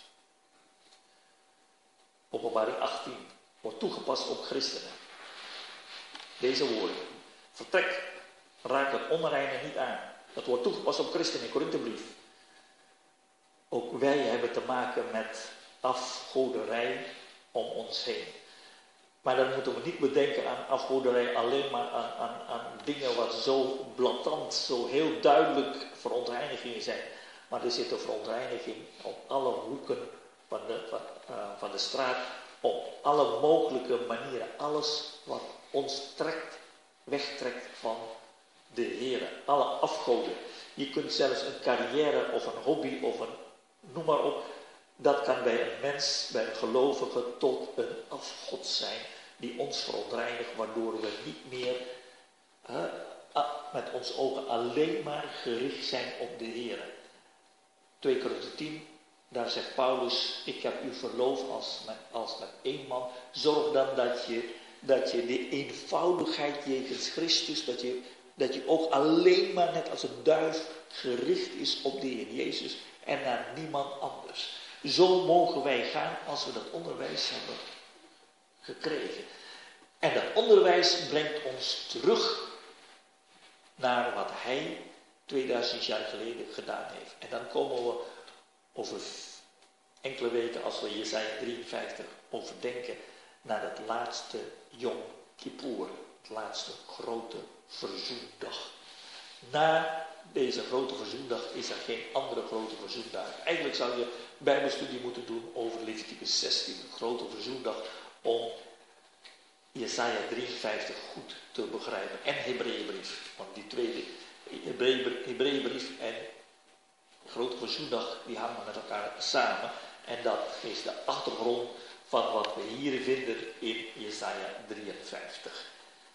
Openbaring achttien wordt toegepast op christenen. Deze woorden. Vertrek, raak het onreine niet aan. Dat wordt toegepast op christenen in Korinthebrief. Ook wij hebben te maken met afgoderij om ons heen. Maar dan moeten we niet bedenken aan afgoderij alleen maar aan, aan, aan dingen wat zo blatant, zo heel duidelijk verontreinigingen zijn. Maar er zit een verontreiniging op alle hoeken van de, van, uh, van de straat, op alle mogelijke manieren. Alles wat ons trekt, wegtrekt van de Heer. Alle afgoden. Je kunt zelfs een carrière of een hobby of een, noem maar op. Dat kan bij een mens, bij een gelovige, tot een afgod zijn. Die ons verontreinigt, waardoor we niet meer uh, met onze ogen alleen maar gericht zijn op de Heer. twee Korinthe tien, daar zegt Paulus, ik heb u verloofd als met, als met één man. Zorg dan dat je, dat je de eenvoudigheid jegens Christus, dat je, dat je ook alleen maar net als een duif gericht is op de Heer Jezus en naar niemand anders. Zo mogen wij gaan als we dat onderwijs hebben gekregen. En dat onderwijs brengt ons terug naar wat hij tweeduizend jaar geleden gedaan heeft. En dan komen we over enkele weken, als we Jesaja drieënvijftig overdenken, naar het laatste Yom Kippur, het laatste grote verzoendag. Na deze grote verzoendag is er geen andere grote verzoendag. Eigenlijk zou je bijbelstudie moeten doen over Leviticus zestien, de grote verzoendag, om Jesaja drieënvijftig goed te begrijpen. En Hebreeënbrief, want die twee, Hebreeënbrief en grote verzoendag, die hangen met elkaar samen. En dat is de achtergrond van wat we hier vinden in Jesaja drieënvijftig.